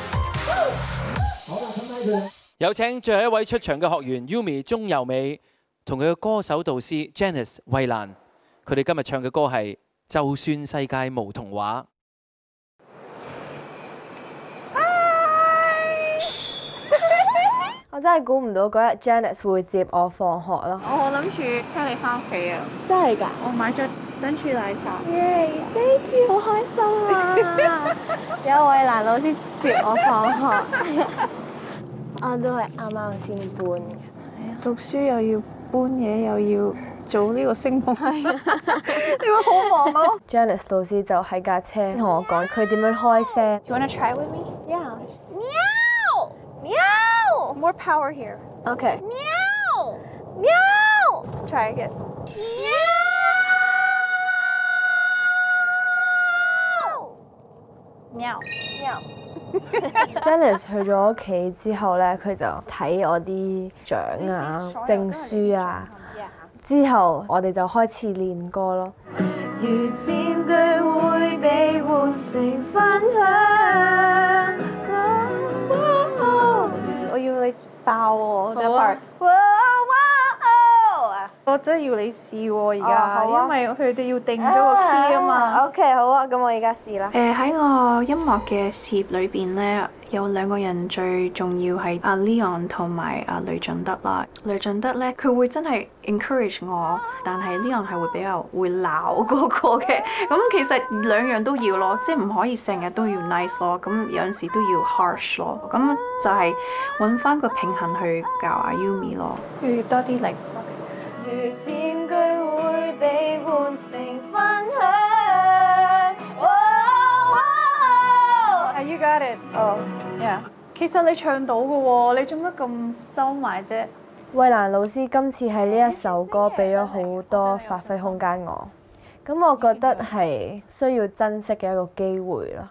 有請最後一位出場嘅學員 Yumi 鍾柔美同佢嘅歌手導師 Janice 衛蘭，佢哋今日唱嘅歌係《就算世界無童話》。 我真係估唔到嗰日 Janice 會接我放學咯。 我諗住車你翻屋企啊！ 真係㗎？ 我買咗珍珠奶茶。 耶 ！Thank you， 好開心啊！有衛蘭老師接我放學。我都係啱啱先搬嘅。 讀書又要搬嘢，又要做呢個聲夢，係啊，你會好忙咯。 Janice 老師就喺架車同我講佢點樣開聲。 Do you wanna try with me? Yeah. Meow! Meow! More power here. Okay. Meow! Meow! Try again. Meow! Meow! Janice 去咗屋企之後咧，佢就睇我啲獎啊、證書啊。之後我哋就開始練歌咯。 如佔據會被換成分享。 我要你爆喎，第一 part。我真係要你試喎而家，因為佢哋要定咗個 key 啊嘛。 OK， 好啊，咁我而家試啦。 誒喺我音樂嘅事業裏邊咧，有兩個人最重要係阿 Leon 同埋阿雷俊德啦。雷俊德咧，佢會真係 encourage 我，但係 Leon 係會比較會鬧嗰個嘅。咁其實兩樣都要咯，即係唔可以成日都要 nice 咯，咁有陣時都要 harsh 咯。咁就係揾翻個平衡去教阿 Yumi 咯。要多啲力。 如佔據會被換成分享。 係 You got it。哦，yeah。其實你唱到嘅喎，你做乜咁收埋啫？ 衛蘭老師今次喺呢一首歌俾咗好多發揮空間我，咁我覺得係需要珍惜嘅一個機會咯。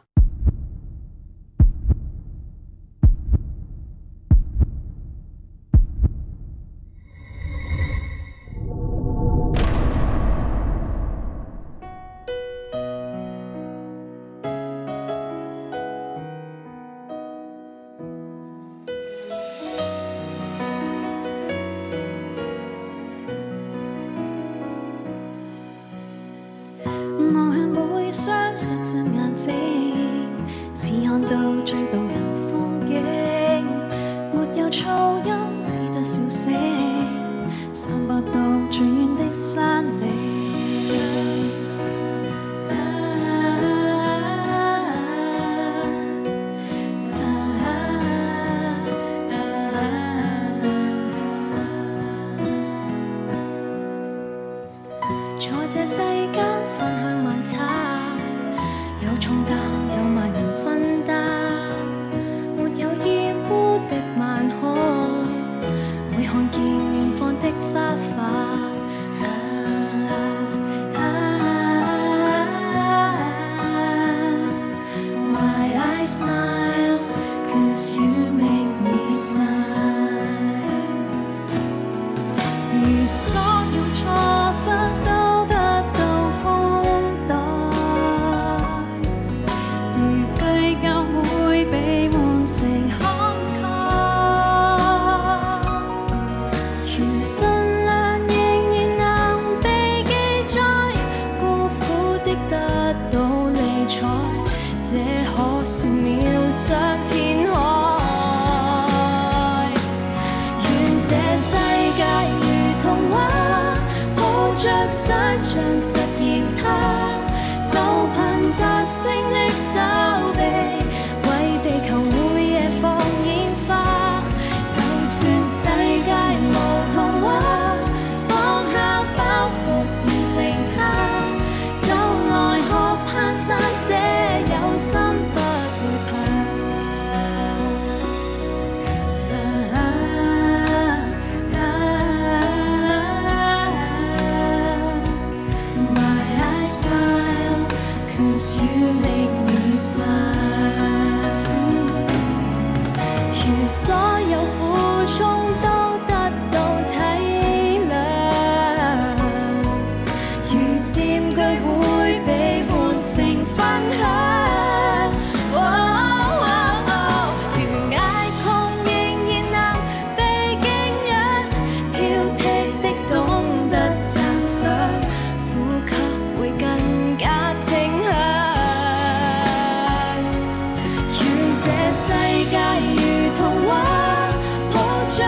這世界如童話，抱着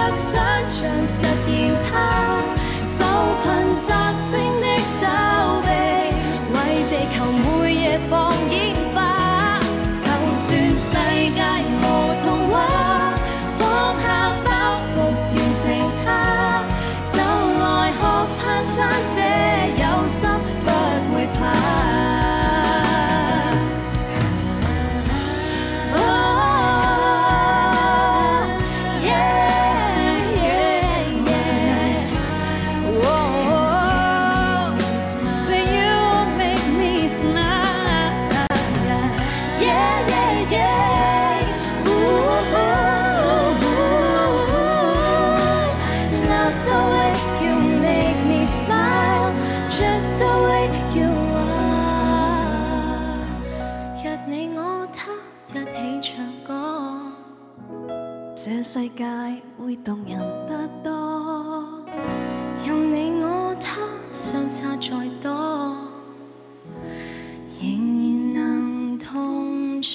要話，若你我他一起唱歌， 這世界會動人得多。 任你我他相差再多，仍然能同坐。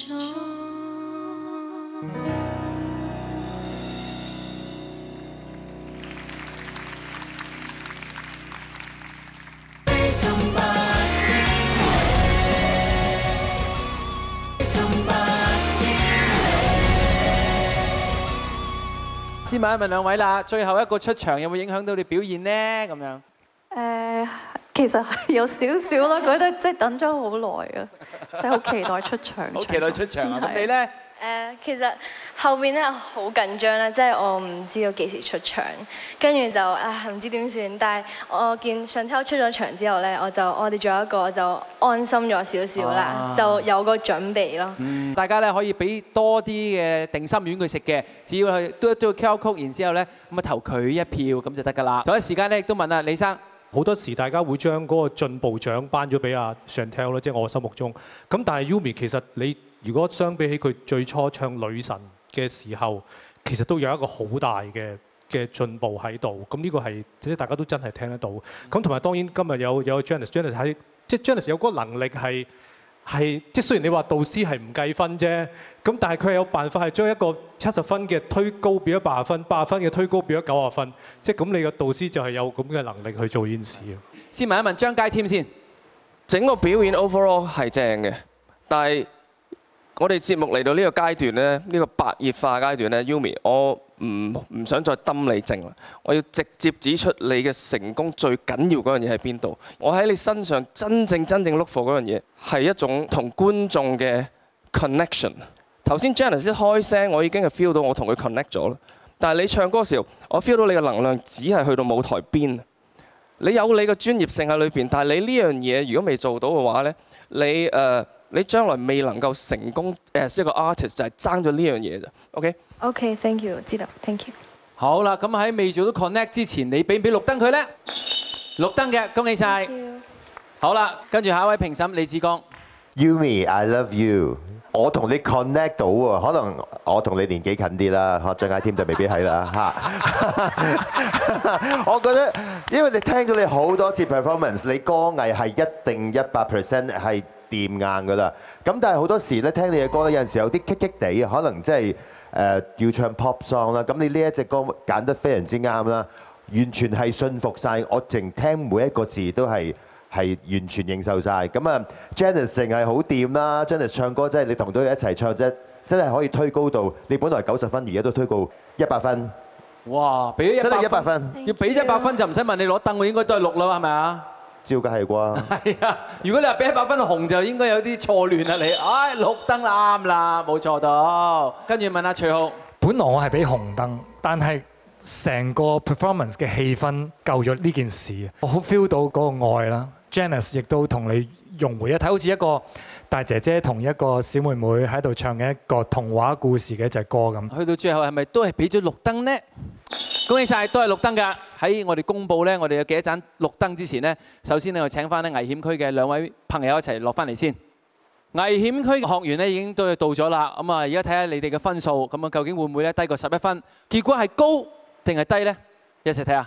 先問一問兩位啦，最後一個出場有冇影響到你表現呢？咁樣誒，其實係有少少啦，覺得即係等咗好耐啊，即係好期待出場。 好期待出場啊！咁你咧？ 誒，其實後邊咧好緊張啦，即係我唔知道幾時出場，跟住就啊唔知點算。但係我見Chantel出咗場之後咧，我就我哋仲有一個就安心咗少少啦，就有個準備咯。 嗯，大家咧可以俾多啲嘅定心丸佢食嘅，只要係嘟一嘟 Q R code，然之後咧咁啊投佢一票咁就得㗎啦。同一時間咧亦都問啊李生。 好多時大家會將嗰個進步獎頒咗俾阿 Chantel 啦，即係我心目中。咁但係 Yumi 其實你如果相比起佢最初唱女神嘅時候，其實都有一個好大嘅嘅進步喺度。咁呢個係即係大家都真係聽得到。咁同埋當然今日有有 Janice，Janice 喺即係 Janice 有嗰個能力係係即係雖然你話導師係唔計分啫，咁但係佢係有辦法係將一個七十分嘅推高變咗八十分，八十分嘅推高變咗九十分，即係咁你個導師就係有咁嘅能力去做呢件事。 先問一問張佳添先， 整個表演 overall 係正嘅，但係我哋節目嚟到呢個階段咧，呢個白熱化階段咧 ，Yumi， 我唔唔想再揼你正啦，我要直接指出你嘅成功最緊要嗰樣嘢喺邊度。我喺你身上真正真正 look for 嗰樣嘢係一種同觀眾嘅 connection。頭先 Janice 一開聲，我已經係 feel 到我同佢 connect 咗啦。但係你唱歌嘅時候，我 feel 到你嘅能量只係去到舞台邊。你有你嘅專業性喺裏邊，但係你呢樣嘢如果未做到嘅話咧，你誒。Uh, 你將來未能夠成功誒一個 artist 就係爭咗呢樣嘢咋 ，OK？ OK，thank you，知道 ，thank you。 好啦，咁喺未做到 connect 之前，你俾唔俾綠燈佢咧？綠燈嘅，恭喜晒。好啦，跟住下一位評審李志剛。 Yumi，I love you。我同你 connect 到喎，可能我同你年紀近啲啦，嚇張佳添就未必係啦嚇。我覺得，因為你聽咗你好多次 performance， 你歌藝係一定一百 percent 係掂硬㗎啦。咁但係好多時咧，聽你嘅歌咧，有陣時有啲棘棘地，可能即係誒要唱 pop song 啦。咁你呢一隻歌揀得非常之啱啦，完全係信服晒，我淨聽每一個字都係。係完全認受晒。咁啊 Janice 淨係好掂啦 ，Janice 唱歌真係你同到佢一齊唱啫，真係可以推高到你本來九十分，而家都推高一百分。 哇！俾咗真係一百分， 分， 要俾一百分就唔使問你攞燈，我應該都係六啦，係咪啊？ 照計係啩？ 係啊！如果你話俾一百分紅，就應該有啲錯亂啦你。唉，綠燈啱啦，冇錯到。跟住問阿徐浩， 本來我係俾紅燈，但係成個 performance 嘅氣氛救咗呢件事，我好 feel 到嗰個愛啦。Janice 亦都同你融為一體，好似一個大姐姐同一個小妹妹喺度唱嘅一個童話故事嘅一隻歌咁。 去到最後係咪都係俾咗綠燈呢？恭喜晒，都係綠燈㗎。喺我哋公佈咧，我哋有幾多盞綠燈之前呢，首先咧我請翻咧危險區嘅兩位朋友一齊落翻嚟先。危險區嘅學員咧已經都到咗啦。咁啊，而家睇下你哋嘅分數，咁啊究竟會唔會咧低過十一分？結果係高定係低呢？一齊睇下。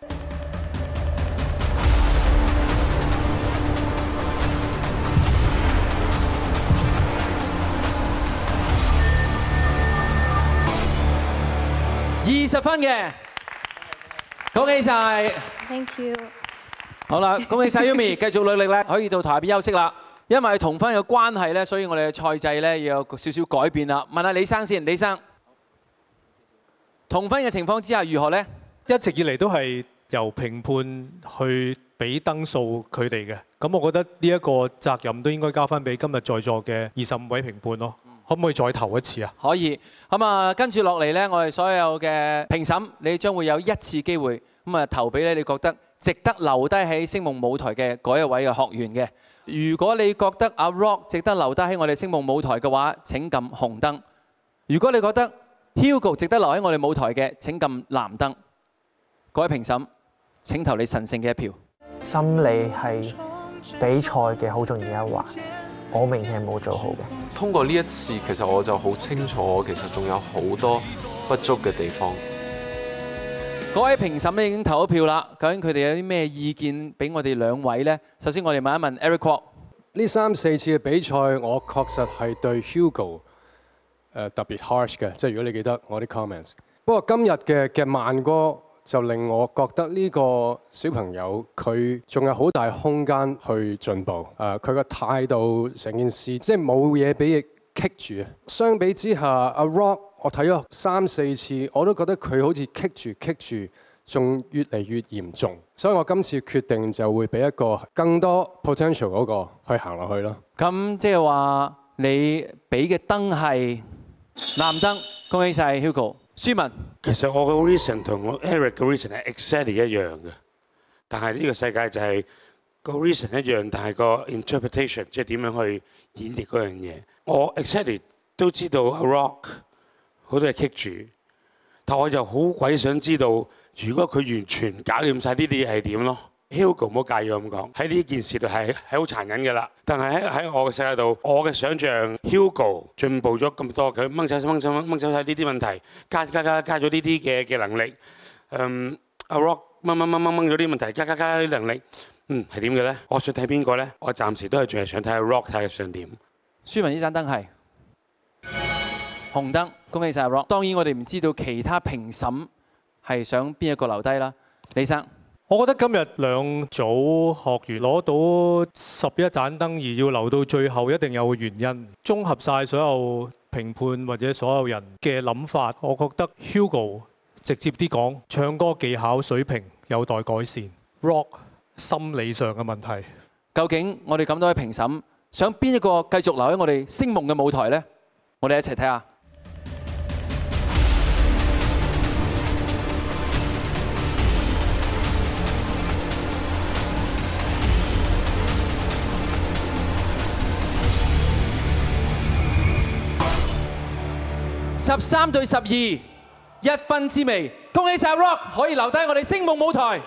二十分嘅，恭喜晒 ，Thank you。 好啦，恭喜晒 Yumi， 繼續努力咧，可以到台邊休息啦。因為同分嘅關係咧，所以我哋嘅賽制咧要有少少改變啦。問下李生先，李生，同分嘅情況之下如何呢？ 一直以嚟都係由評判去俾燈數佢哋嘅，咁我覺得呢一個責任都應該交翻俾今日在座嘅二十五位評判咯。可唔可以再投一次啊？ 可以。咁啊，跟住落嚟呢，我哋所有嘅評審，你將會有一次機會咁啊投俾咧，你覺得值得留低喺星夢舞台嘅嗰一位嘅學員嘅。如果你覺得阿 Rock 值得留低喺我哋星夢舞台嘅話，請撳紅燈；如果你覺得 Hugo 值得留喺我哋舞台嘅，請撳藍燈。各位評審，請投你神聖嘅一票。 心理係比賽嘅好重要嘅一環，我明顯係冇做好嘅。 通過呢一次，其實我就好清楚，我其實仲有好多不足嘅地方。 各位評審咧已經投咗票啦，究竟佢哋有啲咩意見俾我哋兩位呢？首先我哋問一問 Eric Kwok。 呢三四次嘅比賽，我確實係對 Hugo 誒特別 harsh 嘅，即係如果你記得我啲 comments。不過今日嘅嘅慢歌就令我覺得呢個小朋友佢仲有好大空間去進步。誒，佢個態度成件事即係冇嘢俾佢棘住啊。相比之下，阿 Rock 我睇咗三四次，我都覺得佢好似棘住棘住。仲越嚟越嚴重，所以我今次決定就會俾一個更多 potential 嗰個去行落去咯。 咁即係話你俾嘅燈係藍燈，恭喜晒 Hugo。舒文， 其實我嘅 reason 同我 Eric 嘅 reason 係 exactly 一樣嘅，但係呢個世界就係個 reason 一樣，但係個 interpretation 即係點樣去演繹嗰樣嘢。我 exactly 都知道 Rock 好多嘢棘住，但我就好鬼想知道。如果佢完全搞掂晒呢啲嘢係點咯 ？Hugo 唔好介意我咁講，喺呢件事度係係好殘忍嘅啦。但係喺喺我嘅世界度，我嘅想像 Hugo 進步咗咁多，佢掹走掹走掹走晒呢啲問題，加加加加咗呢啲嘅嘅能力。嗯，阿 Rock 掹掹掹掹掹咗啲問題，加加加啲能力，嗯係點嘅咧？我想睇邊個咧？我暫時都係仲係想睇下 Rock 睇下想點。 舒文呢盞燈係紅燈，恭喜晒 Rock。當然我哋唔知道其他評審。係想邊一個留低啦？李生， 我覺得今日兩組學員攞到十一盞燈，而要留到最後，一定有個原因。綜合晒所有評判或者所有人嘅諗法，我覺得 Hugo 直接啲講，唱歌技巧水平有待改善 ，Rock 心理上嘅問題。 究竟我哋咁多位評審想邊一個繼續留喺我哋星夢嘅舞台呢？我哋一齊睇下。十三對十二，一分之微，恭喜晒 Rock 可以留低我哋星夢舞台。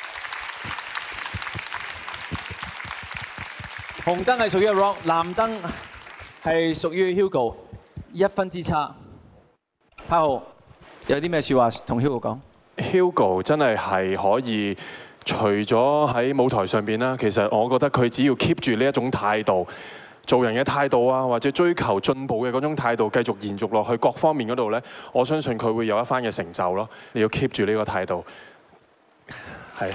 紅燈係屬於 Rock， 藍燈係屬於 Hugo， 一分之差。柏豪有啲咩説話同 Hugo 講 ？Hugo 真係係可以，除咗喺舞台上邊啦，其實我覺得佢只要 keep 住呢一種態度。做人嘅態度啊，或者追求進步嘅嗰種態度，繼續延續落去各方面嗰度呢，我相信佢會有一番嘅成就咯。你要 keep 住呢個態度，係。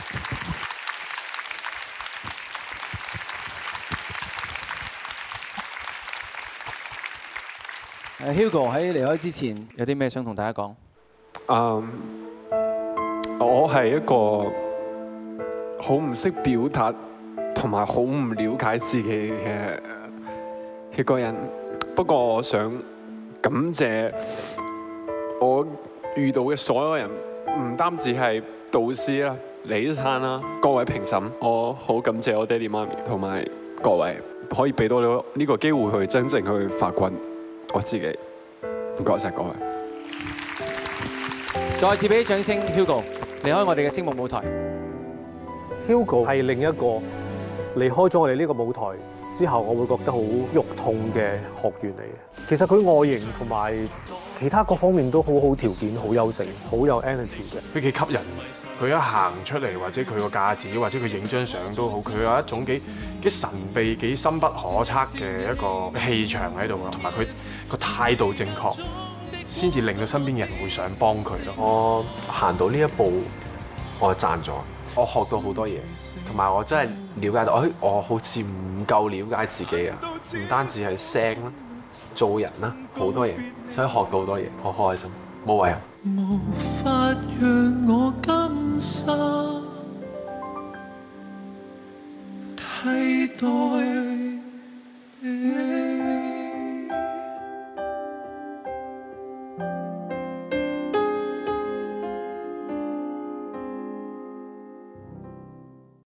誒 Hugo 喺離開之前有啲咩想同大家講？ 嗯，我係一個好唔識表達。同埋好唔了解自己嘅一個人，不過我想感謝我遇到嘅所有人，唔單止係導師啦、李生啦、各位評審，我好感謝我爹哋媽咪同埋各位，可以俾到你呢個機會去真正去發掘我自己。唔該晒各位， 再次俾啲掌聲 ，Hugo 離開我哋嘅星夢舞台。 Hugo 係另一個。離開咗我哋呢個舞台之後，我會覺得好肉痛嘅學員嚟嘅。其實佢外形同埋其他各方面都好好條件，好優勝，好有 energy 嘅。 佢幾吸引，佢一行出嚟或者佢個架子或者佢影張相都好，佢有一種幾幾神秘、幾深不可測嘅一個氣場喺度啊，同埋佢個態度正確，先至令到身邊嘅人會想幫佢咯。 我行到呢一步，我賺咗。我學到好多嘢，同埋我真係了解到，哎，我好似唔夠了解自己啊！唔單止係聲啦，做人啦，好多嘢，所以學到好多嘢，好開心，冇遺憾。無法讓我甘心替代。